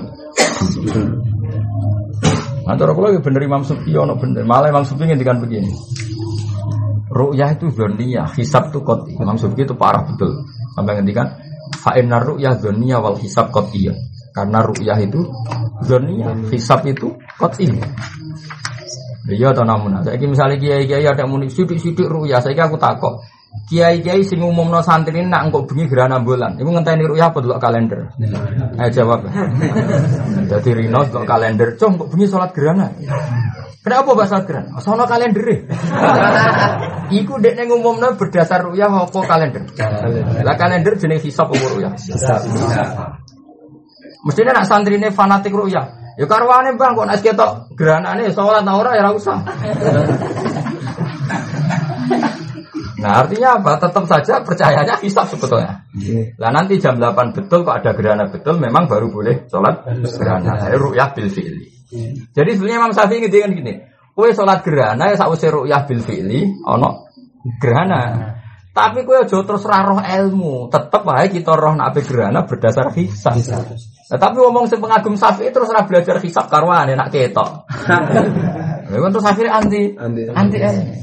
Antara kalau bener Imam Subki ono bener, malah Imam Subki ngendikan begini. Ru'yah itu dzanniyah, hisab itu qat'i. Imam Subki itu parah betul. Sampai ngendikan fa innar ru'yah dzanniyah wal hisab qat'iyah. Karena ru'yah itu dzanniyah, hisab itu qat'i. Iya atau namun. Saiki misalnya kiai-kiai ada muni sithik-sithik ru'yah, saiki aku takok. Kiai-kiai sing umumno santri nak engko bengi gerhana bulan. Iku ngenteni ru'yah apa delok kalender? Ayo jawab. Dadi rino delok kalender, "Cung, kok bengi salat gerhana?" Kenapa bahas salat gerhana? Sono kalendere. Iku dekne ngumumno berdasar ru'yah apa kalender? Lah kalender jenenge hisab apa ru'yah? Hisab. Mestine nak santrine fanatik ru'yah. Ya karwane Bang kok nek ketok gerhanane salat ta ora ya ora usah. Nah artinya apa? Tetap saja percayanya hisab sebetulnya. Lah nanti jam 8 betul kok ada gerhana betul memang baru boleh sholat gerhana. Ru'yah bil fi'li. Jadi sebenarnya Imam Syafi'i ngendikan gini, kowe sholat gerhana ya sakwise ru'yah bil fi'li ana gerhana. Tapi kowe aja terus ra roh ilmu, tetep wae kita roh nek gerhana berdasar hisab. Nah, tapi ngomong sing pengagum Syafi'i terus ra belajar hisab karwane nek ketok. Lha terus akhirnya anti.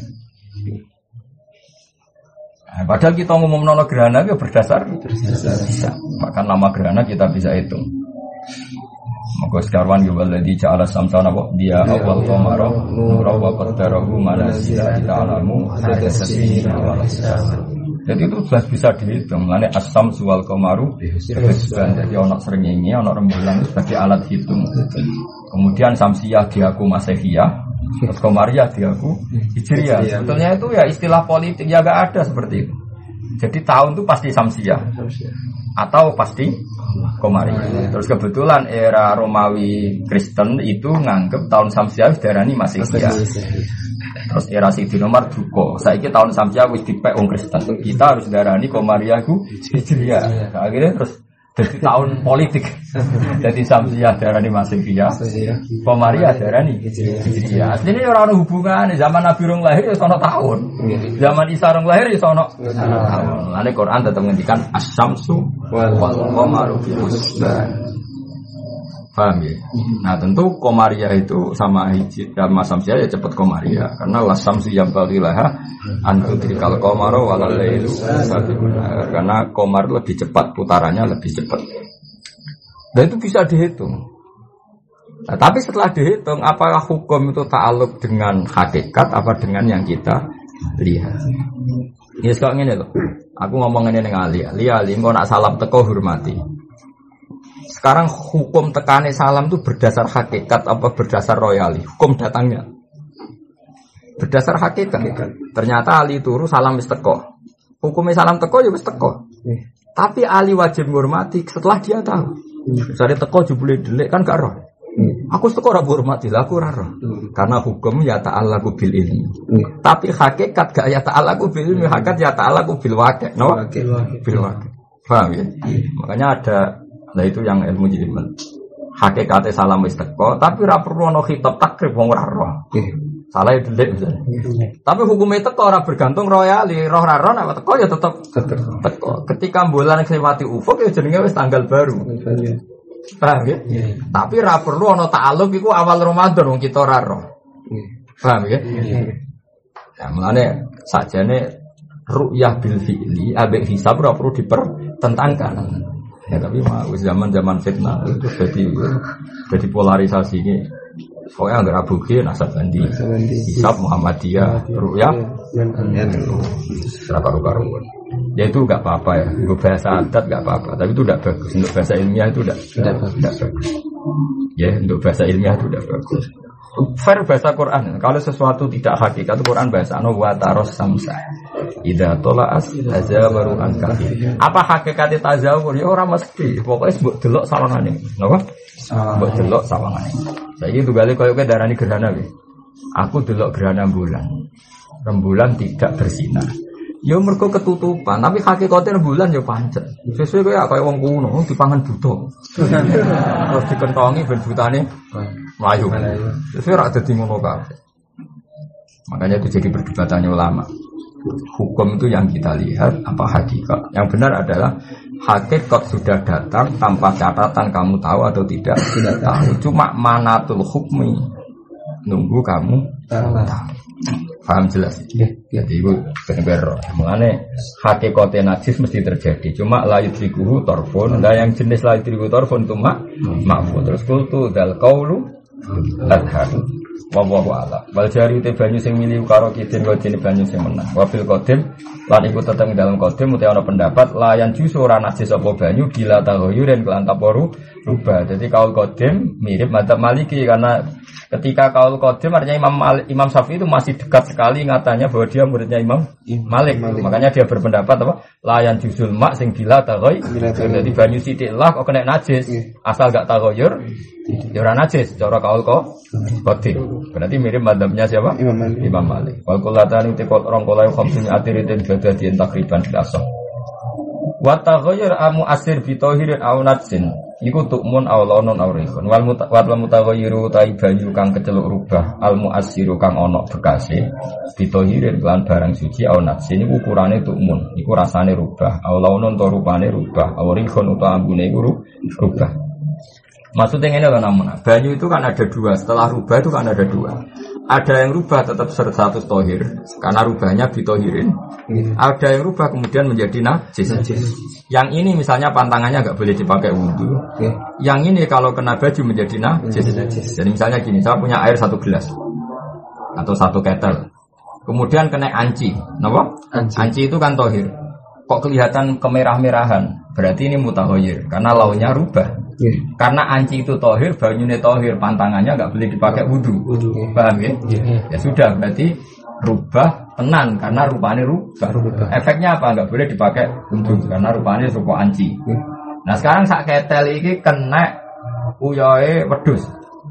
Nah, padahal kita ngomong nono gerhana itu berdasar bisa. Maka nama gerhana kita bisa hitung. Maka sekarwan yuwalladzi ja'ala samsana wa dia awal qamara nura wa qaddarahu manazila ila alamu hadasati wa hisab. Jadi itu jelas bisa dihitung. Lane as-samsu wal qamaru hisban. Jadi ana srengenge, ana rembulan sebagai alat hitung. Kemudian samsiyah diaku masehiyah. Terus Komariah diaku Hijriah. Sebetulnya itu ya istilah politik ya gak ada seperti itu. Jadi tahun itu pasti Samsiah atau pasti Komariah. Terus kebetulan era Romawi Kristen itu nganggep tahun Samsiah darani Masihiyah. Terus era Sayyidina Umar duka. Saiki tahun Samsiah wis dipek wong Kristen. Kita harus darani Komariah ku Hijriah. Akhirnya terus jadi tahun politik. Jadi Samsiah darani Masihiyah, Komariah darani Hijriah. Aslinya orang hubungan zaman Nabi rong lahir ya sono tahun. Zaman Isa rong lahir ya sono tahun. Lalu Quran tetap menghentikan as-samsu wal qamaru bi husban. Paham ya? Nah tentu Komariah itu sama Hijriah sama Samsiah ya cepat Komariah. Karena la samsu yang balilaha antudrikal qamaru wal lailu sabiqun. Karena Komar lebih cepat, putarannya lebih cepat. Dan itu bisa dihitung. Nah, tapi setelah dihitung, apakah hukum itu ta'aluk dengan hakikat apa dengan yang kita lihat? Ini sekarang ini loh. Aku ngomong ini dengan Ali engko nak salam teko hormati. Sekarang hukum tekane salam itu berdasar hakikat apa berdasar royali? Hukum datangnya berdasar hakikat. Ternyata Ali turu salam wis teko. Hukumnya salam teko ya wis teko. Tapi ahli wajib menghormati setelah dia tahu. Misalnya teko jebule delik kan gak roh. Aku teko ora hormati, lah aku ora roh. Karena hukum ya ta'allaqu bil ilmi. Tapi hakikat gak ya ta'allaqu bil ilmi, hakikat ya ta'allaqu bil waqi'. No? Bil waqi'. Paham ya? Makanya ada itu yang ilmu jilid. Hakikate salam wis teko, tapi ora perlu ana khitab takrib wong ora roh. Salah delik misalnya. Tapi hukumnya teko ora bergantung royali, roh ora roh nek teko ya tetep teko. Ketika bulan ngliwati ufuk ya jenenge wis tanggal baru. Paham ya? Tapi ora perlu ana ta'alluq iku awal Ramadan wong kita ora roh. Paham ya? Ya mulane sakjane ru'yah bil fi'li ambek hisab ora perlu dipertentangkan. Ya tapi zaman fitnah itu jadi polarisasi ini. Pokoknya enggak rabuki nasab bandi, hisab Muhammadiyah, ru'yah, karu-karuan. Ya itu enggak apa-apa ya. Untuk bahasa adat enggak apa-apa, tapi itu enggak bagus. Untuk bahasa ilmiah itu enggak bagus. Ya untuk bahasa ilmiah itu enggak bagus. Fair bahasa Quran. Kalau sesuatu tidak hakikat, Quran bahasa wa taros samsa. Idza tola'as tazawaru an kafir. Apa hakikate tazawur? Ya ora mesti. Pokoke mbok delok sawangane. Napa? Mbok delok sawangane. Saiki tugale koyo darani gerhana iki. Aku delok gerhana bulan. Rembulan tidak bersinar. Ya mergo ketutupan, tapi hakikate rembulan ya pancet. Sesuai kaya wong kuno dipangan buta. Terus dikentongi ben butane melayu. Sesuai rak dadi ngono kabeh. Makanya itu jadi perdebatannya ulama. Hukum itu yang kita lihat apa hakikat. Yang benar adalah hakikat sudah datang tanpa catatan kamu tahu atau tidak tahu. Cuma manatul hukmi nunggu kamu tahu. Paham jelas? Jadi itu benar. Mengenai hakikatnya najis mesti terjadi. Cuma la yudrikuhu torfun. Dan yang jenis la yudrikuhu torfun itu makfu. Terus kultu dal kaulu adhar. Wallahu a'lam. Wal jari te banyu sing milih karo kidin kodine banyu sing menang. Wa fil qadim lan iku tetep dalam qadim utawa ana pendapat layan jusu ora najis apa banyu bila taghayyurin kelan taporu rubah. Jadi kaul qadim mirip madzhab Maliki karena ketika kaul qadim artinya Imam Syafi'i itu masih dekat sekali ngatanya bahwa dia muridnya Imam Malik. Makanya dia berpendapat apa? Layan jusul mak sing bila taghayyur. Jadi banyu sithik lah kok kena najis. Asal gak taghayyur ya ora najis cara kaul qadim. Berarti mirip madzhabnya siapa? Imam Malik. Wal qulatani te rong kolai khamsun atiritin badadien takriban biasa. Wa taghayyur amu asir bi tahirin aw natsin. Iku tukmun aw launun aw rihun. Wal mutaghayyiru ta banyu kang keceluk rubah al muassiru kang ana bekase bi tahirin lan barang suci aw natsin iku ukurane tukmun. Iku rasane rubah. Aw launun to rupane rubah. Aw rihun utawa ambune iku rubah. Maksudnya ini loh namanya, banyu itu kan ada dua, setelah rubah itu kan ada dua. Ada yang rubah tetap status tohir, karena rubahnya bitohirin. Ada yang rubah kemudian menjadi najis. Yang ini misalnya pantangannya nggak boleh dipakai wudhu. Yang ini kalau kena baju menjadi najis. Jadi misalnya gini, saya punya air 1 gelas atau 1 ketel, kemudian kena anci, kenapa? Anci itu kan tohir. Kok kelihatan kemerah-merahan? Berarti ini mutaghayyir karena launya rubah. Karena anci itu tohir, banyune tohir, pantangannya nggak boleh dipakai wudhu. Paham ya? Ya sudah, berarti rubah tenan karena rupanya rubah. Efeknya apa? Nggak boleh dipakai wudhu karena rupanya rupa anci. Nah sekarang sak ketel ini kena uyoe wedhus,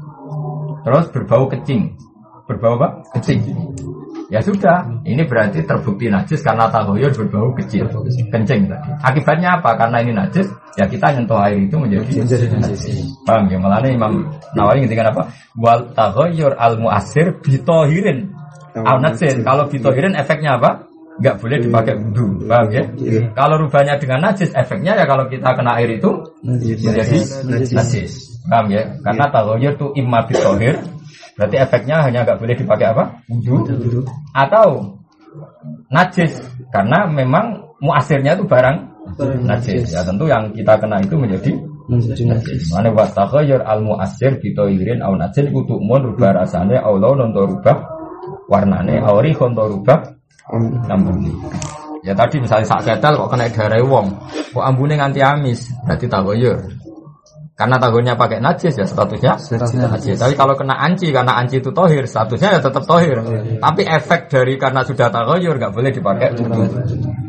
terus berbau kecing. Berbau apa? Kecing. Ya sudah, ini berarti terbukti najis karena taghayyur berbau kecil, kencing tadi. Akibatnya apa? Karena ini najis, ya kita nyentuh air itu menjadi najis. Paham ya? Malah Imam Nawawi ngendikan apa? Wal taghayyur al mu'assir bitohirin al najis. Kalau bitohirin efeknya apa? Enggak boleh dipakai wudu. Paham ya? Kalau rubahnya dengan najis, efeknya ya kalau kita kena air itu menjadi najis. Paham ya? Karena taghayyur itu imma bitohir, berarti efeknya hanya nggak boleh dipakai apa? Wudu. Atau najis karena memang muasirnya itu barang najis. Ya tentu yang kita kena itu menjadi najis. Mane wa taghayyur al muasir bi tayyirin aw najis kudu mun rubah rasane aw launun to rubah warnane aw rihun to rubah ambune. Ya tadi misalnya sak ketel kok kena darah wong, kok ambune nganti amis, berarti taghayyur. Karena tahunya pakai najis ya statusnya najis. Tapi kalau kena anci, karena anci itu tohir, statusnya ya tetap tohir. Tapi efek dari karena sudah taghayyur nggak boleh dipakai wudu.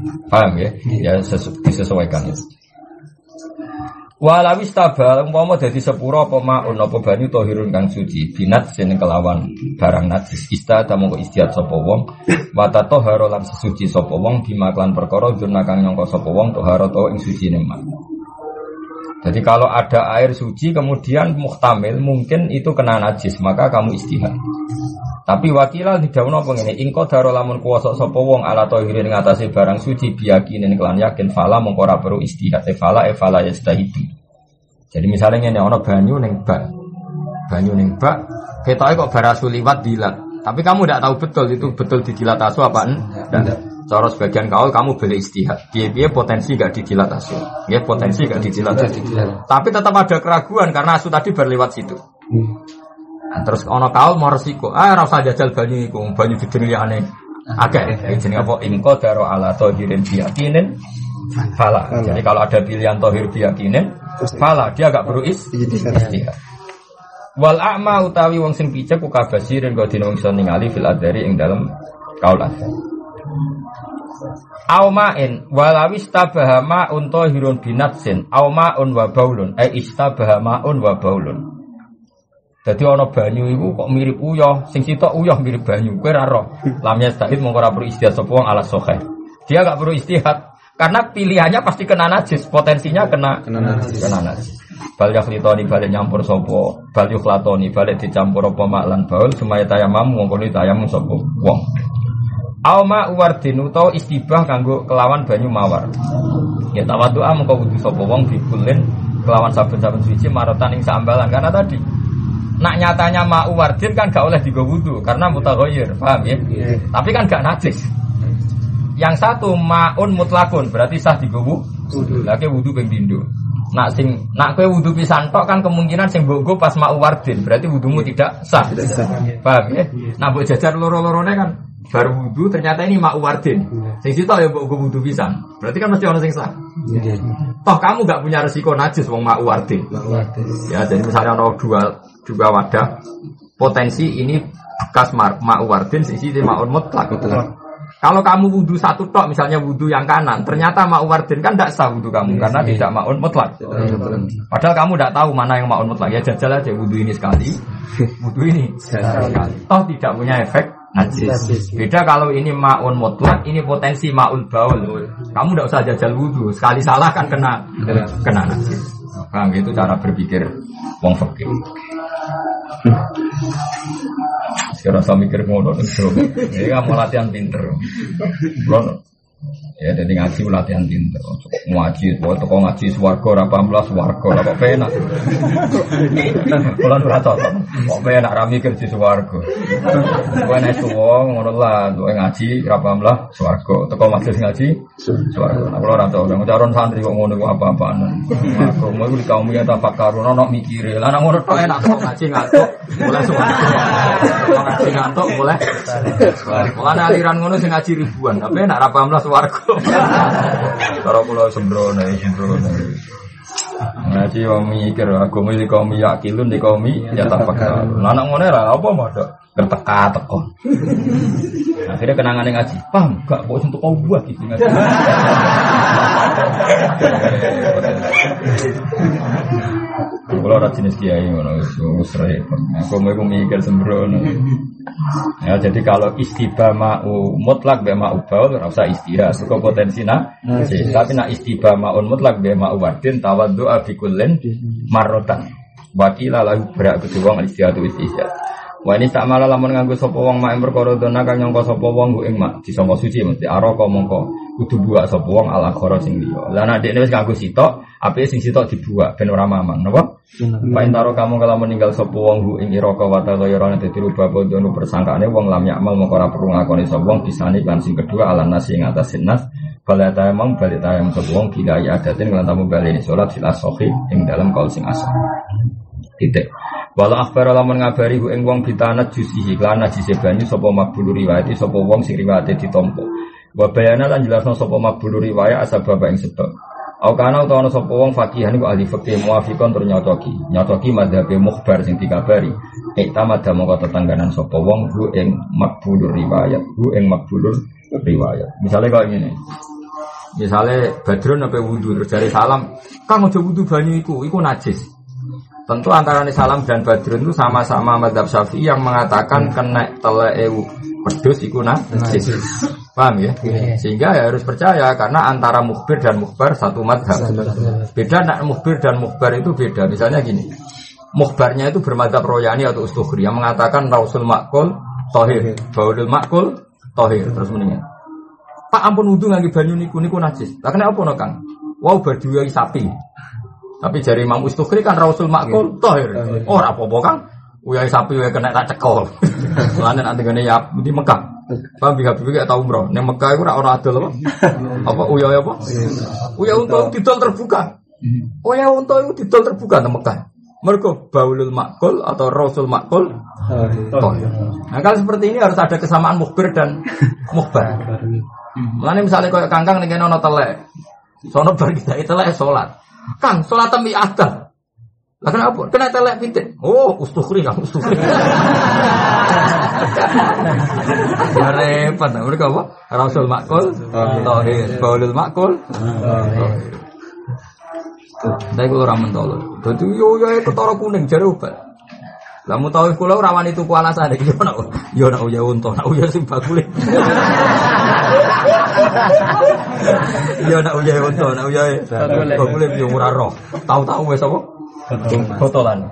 Paham ya? Ya disesuaikan itu. Walawis tabal umpama dadi sepura apa maun apa banyu tahirun kang suci binat sing kelawan barang najis istada mongko istiad sapa wong wa tatahara lan suci sapa wong bimaklan perkara jurna kang nyangka sapa wong tahara to ing sucine mak. Jadi kalau ada air suci kemudian muhtamil mungkin itu kena najis maka kamu istihad. Tapi wakilal didhawuhna apa ngene ing qadara lamun kuwasa sapa wong ala tahirin ngatasi barang suci biyakinin kelan yakin fala mongko ora perlu istihad fala yastahidu. Jadi misalnya ngene ana banyu ning bak. Banyu ning bak ketoke kok barasu liwat dilat. Tapi kamu tidak tahu betul itu betul didilat asu apa enggak. Cara sebagian kamu boleh istihad. Piye-piye potensi enggak didilat asu. Ya potensi enggak didilat asu. Tapi tetap ada keraguan karena asu tadi berlewat situ. Nah, terus ana kaul mau resiko. Ora usah jajal banyu iku, banyu didenilane akeh. Jenenge apa? Ingko daro ala tahirin biyakinin fala. Jadi kalau ada pilihan tahir biyakinin fala, dia agak perlu istihad. Wal a'ma utawi wong sing picek ku kabasirin kok dina wong iso ningali fil adari ing dalem kaul adar. Auma'in walawis tabahama untahirun binatsin auma'un wa baulun istabahamaun wa baulun. Dadi ana banyu iku kok mirip uyah, sing sitok uyah mirip banyu. Kowe ora roh. Lamnya stahid mongko ora perlu istihad sapa wong ala sahih. Dia enggak perlu istihad karena pilihannya pasti kena najis, potensinya kena najis. Bal yakhlitoni balik nyampur sapa, bal yukhlatoni balik dicampur apa mak lan baul sumaya tayamam mongko tayamum sapa wong. Auma uwardin utawa istibah kanggo kelawan banyu mawar. Ya tawadhu'a mongko wudu sapa wong dikulin kelawan saben-saben suci marotan ing sambalan karena tadi nak nyatanya ma'u wardin kan gak oleh digo wudu karena mutaghayyir, paham ya? Tapi kan gak najis. Yang satu ma'un mutlakun berarti sah digo wudu. Lagi wudu ping pindho. Nak kowe wudu pisan tok kan kemungkinan sing mbok pas ma'u wardin berarti wudumu tidak sah. Paham ya? Nah mbok jajar loro-lorone kan baru wudu ternyata ini ma'u wardin. Sing sitok ya mbok wudu pisan. Berarti kan mesti ono sing sah. Toh kamu gak punya resiko najis wong ma'u wardin. Ya jadi misalnya ono dua wadah potensi ini bekas ma'u wardin sisi ma'un mutlak. Kalau kamu wudu satu tok misalnya wudu yang kanan ternyata ma'u wardin kan tidak sah wudu kamu karena tidak ma'un mutlak. Padahal kamu tidak tahu mana yang ma'un mutlak ya jajal aja wudu ini sekali wudu ini sekali toh tidak punya efek najis. Beda kalau ini ma'un mutlak ini potensi ma'ul baul kamu tidak usah jajal wudu sekali salah kan kena najis. Bang itu cara berpikir wong fikih. Sekarang saya mikir ngono terus. Ini kamu latihan pinter. Belum. Ya jadi ngaji latihan pinter. Ngaji, kok ngaji swarga, 18 swarga, kok penak. Bulan berapa? Kok penak rami kerja swarga. Kowe nek suwo ngono lah, kowe ngaji 18 swarga. Teko majelis ngaji swarga. Nah, kalau ora tau ngajaron santri kok ngono kok apa-apaan. Aku mau di kaum ya tafakkarun ono mikire. Lah ngono tok enak kok ngaji ngantuk, mulai swarga. Ngaji ngantuk mulai swarga. Ana aliran ngono sing ngaji ribuan, tapi enak 18 swarga. Kalau pulau sembrono. Ngaji wong mikir agama iki kaum yakilun di kaum ya tafakkur. Lah anak ngene ra apa modok terteka-teko. Akhirnya kenangane ngaji. Paham gak kok untuk kau buat gitu ngaji. Kalau ada jenis kiai ngono wis repot. Aku mau mikir sembrono. Ya jadi kalau istibah ma'u mutlak be ma'u baul ora usah istihad. Suka potensi tapi nak istibah ma'un mutlak be ma'u wardin tawaddu'a bi kullin marratan. Wakila lahu berak kedua istihad istihad. Wa ini tak malah lamun nganggo sapa wong mak perkara dona kang nyangka sapa wong ing mak disangka suci mesti araka mongko kudu buak sapa wong ala khara sing liya. Lah nek dekne wis nganggo sitok, apike sing sitok dibuak ben ora mamang, napa? Pain taro kamu kalau meninggal sapa wong ing iraka wa taghayyaran dadi rubah bodono persangkaane wong lam yakmal mongko ora perlu ngakoni sapa wong bisane lan sing kedua ala nasi ing atas nas balata emang balik tayang sapa wong bila ya adatin lan tamu baleni salat fil ashahi ing dalam kaul sing asah. Titik. Walau akhbar lamun ngabari ku ing wong bitanat jusihi lan najise banyu sapa maqbul riwayat sapa wong sing riwayate ditampa. Wa bayana lan jelasno sapa maqbul riwayat asbab ing sebab. Au kana utawa sapa wong faqihan ku ahli fikih muafiqon tur nyocoki mazhabe mukhbar sing dikabari. Iktamada mongko tetangganan sapa wong ku ing maqbul riwayat, Misalnya kok ngene. Misalnya Badrun apa wudu terus dari salam, Kang aja wudu banyu iku najis. Tentu antara salam dan Badrun itu sama-sama mazhab Syafi'i yang mengatakan kena teleke wedhus iku najis. Paham ya? Sehingga ya harus percaya karena antara mukhbir dan mukhbar satu mazhab. Beda nak mukhbir dan mukhbar itu beda. Misalnya gini. Mukhbarnya itu bermadzhab Royani atau Ustukhri yang mengatakan Rausul Makul Tohir, Baulul Makul Tohir. Terus mendingan Pak ampun wudu ngangge banyu niku najis. Lah kenapa no Kang? Wow badhuai sapi. Tapi jari Imam Ustukhri kan Rausul Makul Tohir. Oh ora apa-apa Kang. Uyai sapi wae kena tak cekol. Soalnya nanti ngene ya di Mekah. Paham biga tau umroh. Ning Mekah iku ora ana adol apa? Apa uyai apa? Uyai unta didol terbuka. Uyai unta iku didol terbuka nang Mekah. Mergo baulul makul atau Rausul Makul Tohir. Nah kalau seperti ini harus ada kesamaan mukhbir dan mukhbar. Mulane misalnya koyo kangkang ning kene ana telek. Sono bar kita telek salat. Kang, salat tembi adan. Lah kenapa? Kena telek pitik. Oh, Ustukhri Kang, Ustukhri. Repot, mereka apa? Rausul Makul Tohir, baulul Makul Tohir. Tapi kalau ramen tolong, jadi yo ketara kuning jare obat. Lah mu tahu kula ora wani tuku alasane iki yo nak uya unta, nak uya sing bakule. Yo nak uya unta, nak uya bakule yo ora roh. Tahu-tahu wis apa? Botolan.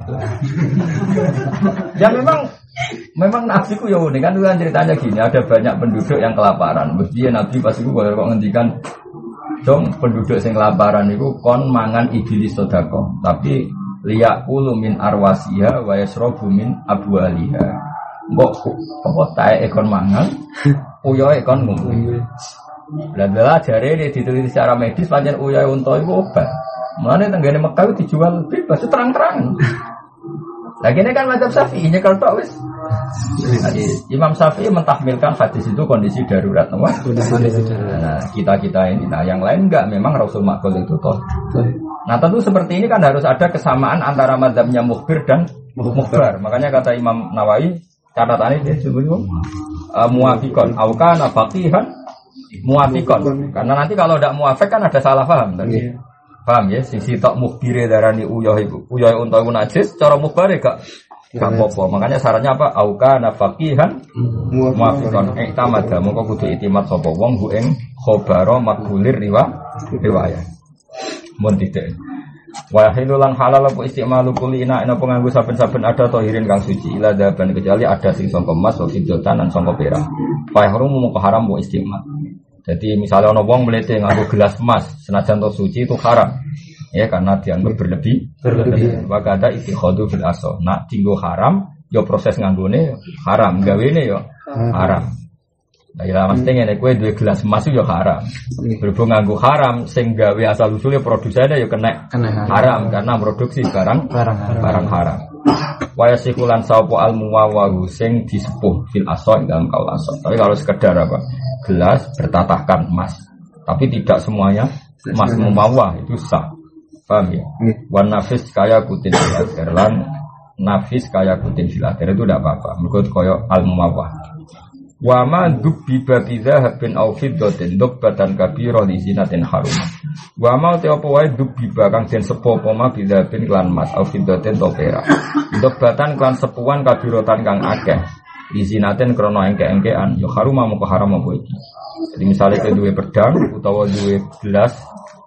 Ya memang nafsiku ya unik kan ceritanya gini, ada banyak penduduk yang kelaparan. Mestinya Nabi pas iku kok ngendikan dong penduduk sing kelaparan itu kon mangan iblis sedekah tapi liyaqulu min arwasiha wa yasrabu min abwaliha mbok apa tae kon mangan uyoe kon ngombe lha jare diteliti secara medis pancen uyoe unta iku obat mulane tenggene Mekah dijual bebas terang-terangan lagi ini kan mazhab Syafi'i nyekel tok wis. Imam Syafi'i mentahmilkan hadis itu kondisi darurat, nah, kita ini, nah yang lain enggak, memang Rausul Makul itu toh. Nah tentu seperti ini kan harus ada kesamaan antara mazhabnya mukhbir dan mukhbar. Makanya kata Imam Nawawi catatannya dia sebutnya muwafiqon, aukana faqihan muwafiqon. Karena nanti kalau tidak muwafiq kan ada salah paham tadi. Paham ya? Sisi tok mukhbire darani uyah iku. Uyah unta iku najis, cara mukhbare gak apa-apa. Makanya syaratnya apa? Auka nafaqihan muwafiqan i'tamada. Mongko kudu itimat sapa wong ku ing khabara maqbulir riwayat. Mun titik. Wa hilulan halal apa istimalu kulina ana penganggo saben-saben ada tahirin kang suci ila daban kecuali ada sing sangka emas wa fiddatan lan sangka perak. Fa harum mung haram wa istimal. Jadi misalnya ono wong mlete nganggo gelas emas senajan to suci itu haram. Ya karena dianggap berlebih. Maka ada ittikhadu fil aso. Nak dinggo haram, yo proses nganggone haram, gawene yo haram. Lah ya mesti ngene kowe duwe gelas emas yo haram. Berhubung nganggo haram sing gawe asal usule produsene yo kena haram karena produksi barang haram. Waya sikulan sapa al-muwawahu sing disepuh fil aso dalam kaul aso. Tapi kalau sekedar apa? Gelas bertatahkan emas. Tapi tidak semuanya emas mumawah itu sah. Paham ya? Wan nafis kaya kutin filatir lan nafis kaya kutin filatir itu tidak apa-apa. Mergo koyo al-mumawah. Wa ma dubbi babiza habin au fiddatin dubbatan kabira li zinatin harum. Wa ma te apa wae dubbi kang den sepo apa ma bizabin lan mas au fiddatin to perak. Dubbatan kan sepuan kabiratan kang akeh. Izinaten krono engke-engkean yo harum moko haram apa iki. Jadi misalnya ke duwe pedang utawa duwe gelas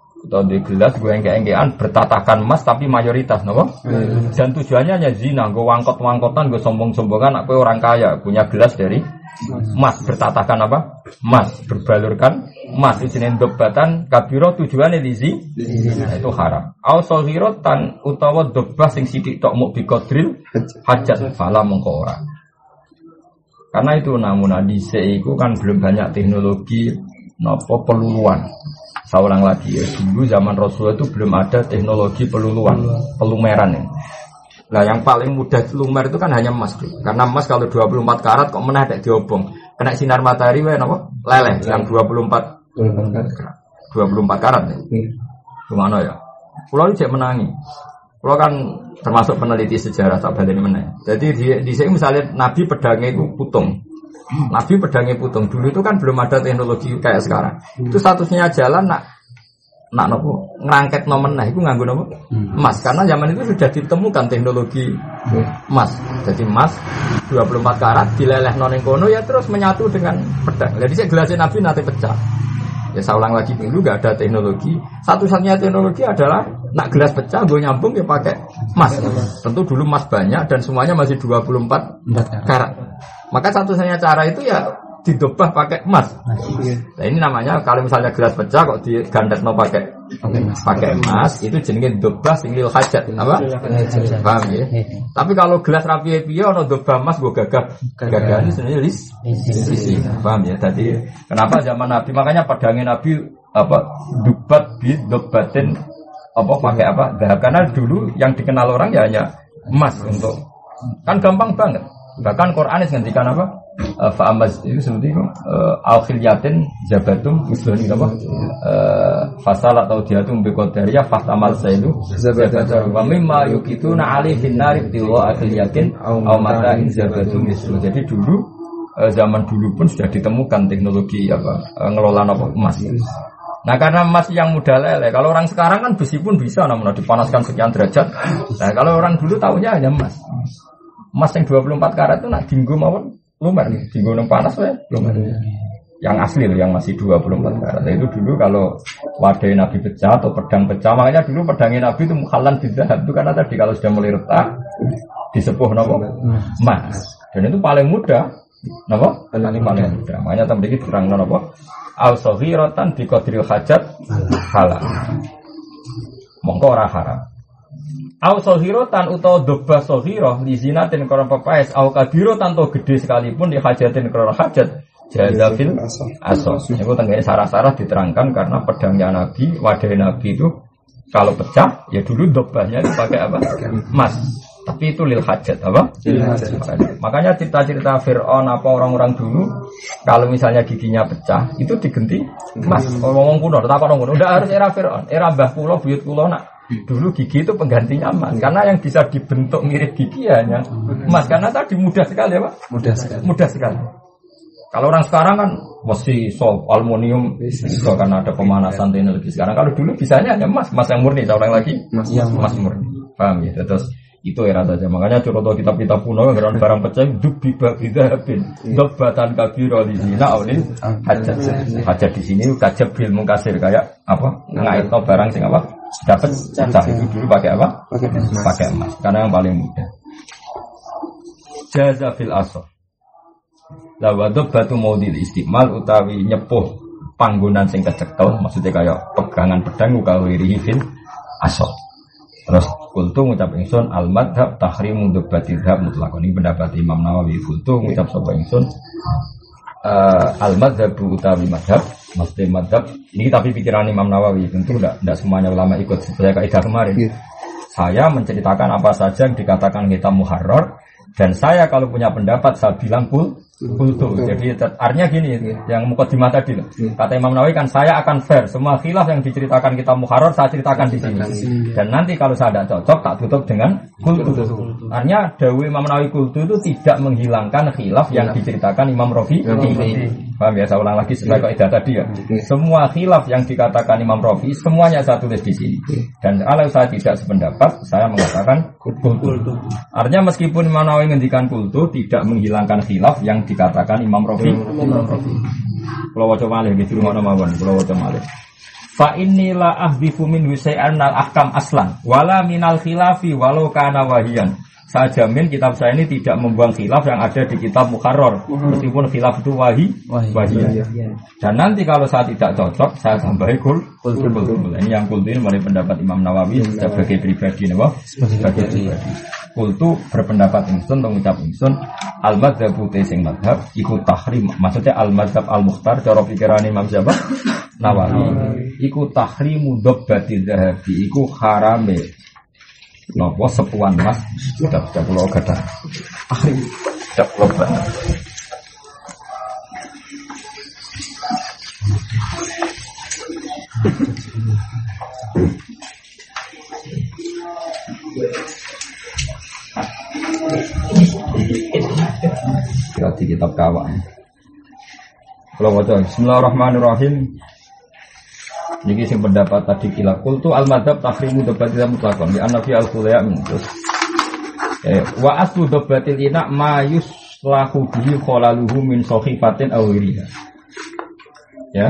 gue engke-engkean bertatahkan emas tapi mayoritas napa? Dan tujuannya hanya zina, gue wangkot-wangkotan, gue sombong-sombongan aku orang kaya, punya gelas dari emas bertatahkan apa? Emas, berbalurkan emas isine dobatan kabiro tujuannya dizi itu haram. Au saghiratan utawa dobah sing sithik tok muk biqadril hajat fala mengko ora. Karena itu namun dhisik iku kan belum banyak teknologi nopo peluluan. Saya ulang lagi ya, dulu zaman Rasulullah itu belum ada teknologi pelumeran ya. Nah yang paling mudah lumer itu kan hanya emas tuh. Karena emas kalau 24 karat kok meneh nek diobong. Kena sinar matahari wae napa? Leleh yang 24 karat ya. Gimana ya? Kulo cek menangi. Kulo kan termasuk peneliti sejarah tak baleni meneh. Jadi di sini misalnya Nabi pedangnya itu putung. Nabi pedangnya putung. Dulu itu kan belum ada teknologi kayak sekarang. Itu statusnya jalan nak nopo ngerangket nomen nah itu nganggo nopo emas karena zaman itu sudah ditemukan teknologi emas. Jadi emas 24 karat dilelehno ning kono ya terus menyatu dengan pedang. Jadi saya gelasnya Nabi nanti pecah. Ya saya ulang lagi dulu enggak ada teknologi. Satu-satunya teknologi adalah nak gelas pecah gue nyambung ya pakai emas. Tentu dulu emas banyak dan semuanya masih 24 karat. Maka satu-satunya cara itu ya didobah pakai emas. Nah ini namanya kalau misalnya gelas pecah kok digandetno pakai emas itu jenenge dobah sing lil hajat apa? Paham ya? Tapi kalau gelas rapi piye ono dobah emas go gagah ini sebenarnya sisi. Paham ya? Tadi kenapa zaman Nabi makanya pedangnya Nabi apa dubat bi dobatin apa pakai apa? Karena dulu yang dikenal orang ya hanya emas untuk kan gampang banget. Bahkan Quran ngendikan apa? Fa'amaz itu seperti itu al-khilyatin jabatum usulani apa? Fasal atau diatum biqadariyah fahtamal sailu zabatum wa mimma yukituna alaihin narib tiwa al-khilyatin aw mata'in zabatum usul. Jadi dulu zaman dulu pun sudah ditemukan teknologi apa ngelola apa emas. Nah karena emas yang mudah leleh. Kalau orang sekarang kan besi pun bisa namun dipanaskan sekian derajat. Nah kalau orang dulu tahunya hanya emas. Emas yang 24 karat itu nak dinggo mawon lumer nih, dinggo nang panas ya lumer. Yang asli loh yang masih 24 karat. Nah, itu dulu kalau wadah Nabi pecah atau pedang pecah, makanya dulu pedangnya Nabi itu mukhalan bidhahab itu karena tadi kalau sudah mulai retak disepuh napa emas. Dan itu paling mudah napa? Paling mudah. Makanya tadi iki terangno napa? Al-saghiratan bi qadril hajat halal. Mongko ora haram. Au sohirotan utawa dobah sohiroh di zinatin koron pepaes au kabirotan to gede sekalipun di hajatin koron hajat jazafil asos. Itu tengganya sarah-sarah diterangkan karena pedangnya Nabi, wadah Nabi itu kalau pecah ya dulu dobahnya dipakai apa? Emas. Tapi itu lil hajat apa? Makanya cerita-cerita Fir'aun apa orang-orang dulu kalau misalnya giginya pecah itu digenti emas. Ngomong kuno, tak orang kuno. Udah harus era Fir'aun, era Mbah Kulo, buyut Kulo nak. Dulu gigi itu penggantinya emas karena yang bisa dibentuk mirip gigi hanya emas karena tadi mudah sekali ya Pak? Mudah sekali. Kalau orang sekarang kan mesti aluminium bisa karena ada pemanasan teknologi sekarang. Kalau dulu bisanya hanya emas yang murni. Saya ulang lagi emas murni. Paham ya? Terus itu era saja. Makanya contoh kitab-kitab kuno yang barang pecah dubi babidabin dobatan kabiro di sini oleh hajat di sini kajab bil mungkasir kayak apa ngaitno barang sing apa dapat pecah itu dulu pakai apa pakai emas karena yang paling mudah. Jaza fil asr lawadub batu maudil istimal utawi nyepuh panggonan sing kecekel maksudnya kayak pegangan pedang ukawiri fil asr. Terus kultu ngucap ingsun al-madhab tahrimu dubbatidhab mutlakon. Ini pendapat Imam Nawawi. Kultu ngucap sapa ingsun al-madhab utawi madhab. Maksudnya madhab ini tapi pikiran Imam Nawawi. Tentu tidak semuanya ulama ikut. Saya kaidah kemarin saya menceritakan apa saja yang dikatakan kitab muharrar. Dan saya kalau punya pendapat saya bilang kultu. Jadi artinya gini yang mukadimah tadi loh. Kata Imam Nawawi kan saya akan fair. Semua khilaf yang diceritakan kita muharrar saya ceritakan di sini. Dan nanti kalau saya tidak cocok tak tutup dengan kultu. Artinya dawuh Imam Nawawi kultu itu tidak menghilangkan khilaf yang diceritakan Imam Rafi. Paham ya? Saya ulang lagi sesuai kaidah tadi ya. Semua khilaf yang dikatakan Imam Rafi semuanya saya tulis di sini. Dan kalau saya tidak sependapat saya mengatakan kultu. Artinya meskipun Imam Nawawi ngendikan kultu tidak menghilangkan khilaf yang dikatakan Imam Rafi. Kalau waca malih gitu ngono mawon, kalau waca malih. Fa innila ahdifu min husai'an al-ahkam aslan wala minal khilafi walau kana wahiyan. Saya jamin kitab saya ini tidak membuang khilaf yang ada di kitab muharrar meskipun khilaf itu wahiyah. Dan nanti kalau saya tidak cocok saya tambahi kultu. Ini yang kultu ini menurut pendapat Imam Nawawi sebagai pribadi sebagai pribadi. Kultu berpendapat ingsun mengucap ingsun al-madzhabu sing madhab iku tahrim. Maksudnya al-madzhab al-mukhtar cara pikiran Imam Nawawi iku tahrimu dobbati dzahabi iku harame nopo sepuan emas sudah pulau kata tahrim sudah pulau banget. Kira di kitab Kawan. Kalau baca Bismillahirrahmanirrahim. Niki sing pendapat tadi kila qultu al-madzhab tahrimu dabatil mutlaqan li anna fi al-khulaya min terus wa aslu dabatil ina ma yuslahu bihi khalaluhu min sahifatin aw ghiriha. Ya.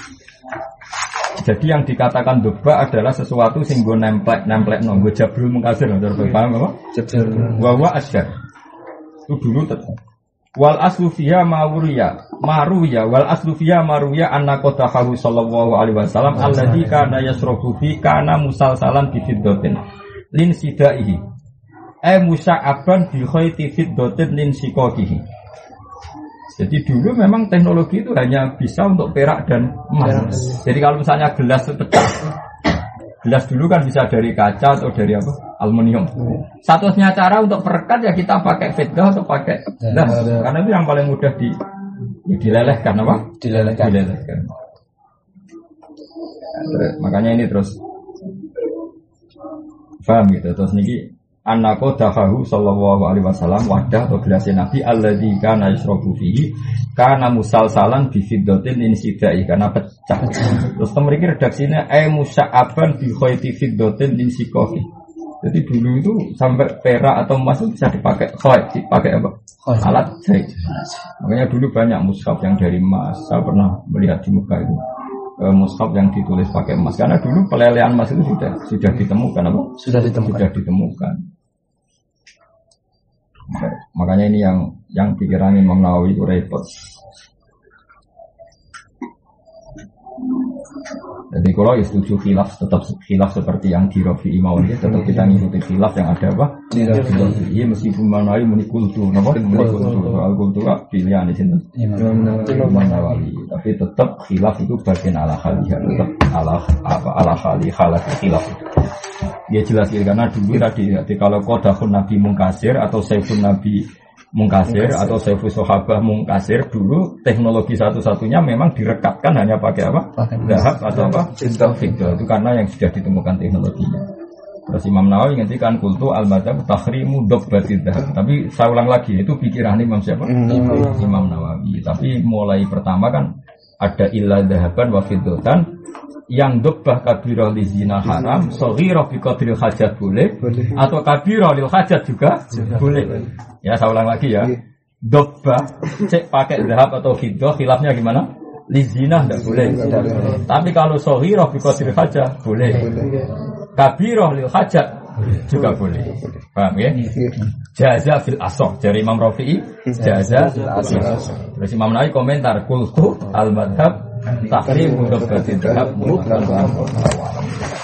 Jadi yang dikatakan doba adalah sesuatu sing go nemplek nggo jabrul mungkasir, paham apa? Jabrul wa asgar. Itu dulu tetap. Wal aslu fiha maruya wal aslu fiha maruya anna qatahu sallallahu alaihi wasallam alladzi kana yasrabu fi kana musalsalan bi fiddatin lin sidaihi musa'aban bi khayti fiddatin lin siqaqihi. Jadi dulu memang teknologi itu hanya bisa untuk perak dan emas. Jadi kalau misalnya gelas pecah, gelas dulu kan bisa dari kaca atau dari apa? Aluminium. Satu-satunya cara untuk perekat ya kita pakai fiddah atau pakai gelas. Karena itu yang paling mudah dilelehkan apa? Dilelehkan. Makanya ini terus paham gitu. Terus niki anako dahahu sallallahu alaihi wasallam wadah atau gelas Nabi alladzi kana yasrabu fihi kana musalsalan bi fiddatin insidai karena pecah. Terus mriki redaksine musa'aban bi khayti fiddatin insiqahi. Jadi dulu itu sampai perak atau emas itu bisa dipakai dipakai apa? Alat jahit. Makanya dulu banyak mushaf yang dari emas. Saya pernah melihat di muka itu. Mushaf yang ditulis pakai emas karena dulu pelelehan emas itu sudah ditemukan apa? Sudah ditemukan. Makanya ini yang pikiran Imam Nawawi itu repot. Jadi kalau setuju khilaf tetap khilaf seperti yang di Rafi'i Maulid tetap kita ngikuti khilaf yang ada apa? Iya meskipun Imam Nawawi menikultu, apa? Menikultu soal kultu pilihan di sini. Imam Nawawi, tapi tetap khilaf itu bagian ala khaliyah, tetap ala khaliyah khilaf. Dia jelas karena dulu tadi kalau qadahun Nabi mungkasir atau saifun Nabi mungkasir atau saifus sahabah mungkasir dulu teknologi satu-satunya memang direkatkan hanya pakai apa? Zahab atau apa? Fiddah. Itu karena yang sudah ditemukan teknologinya. Terus Imam Nawawi ngendikan kultu al-madzhab tahrimu dabbatid dzahab. Tapi saya ulang lagi itu pikiran Imam siapa? Imam Nawawi. Tapi mulai pertama kan ada illa dzahaban wa fiddatan yang dobbah kabirah li zina haram, shaghirah bi qadril hajat boleh atau kabirah lil hajat juga boleh. Ya saya ulang lagi ya. Dobbah cek pakai zahab atau fiddah khilafnya gimana? Li zina enggak boleh. Tapi kalau shaghirah bi qadril hajat boleh. Kabirah lil hajat juga boleh. Paham ya? Jaza fil asah dari Imam Rafi'i, jaza fil asah. Terus Imam Nawawi komentar qultu al madhab tahrim mudabbatin dzahab mutlaqan.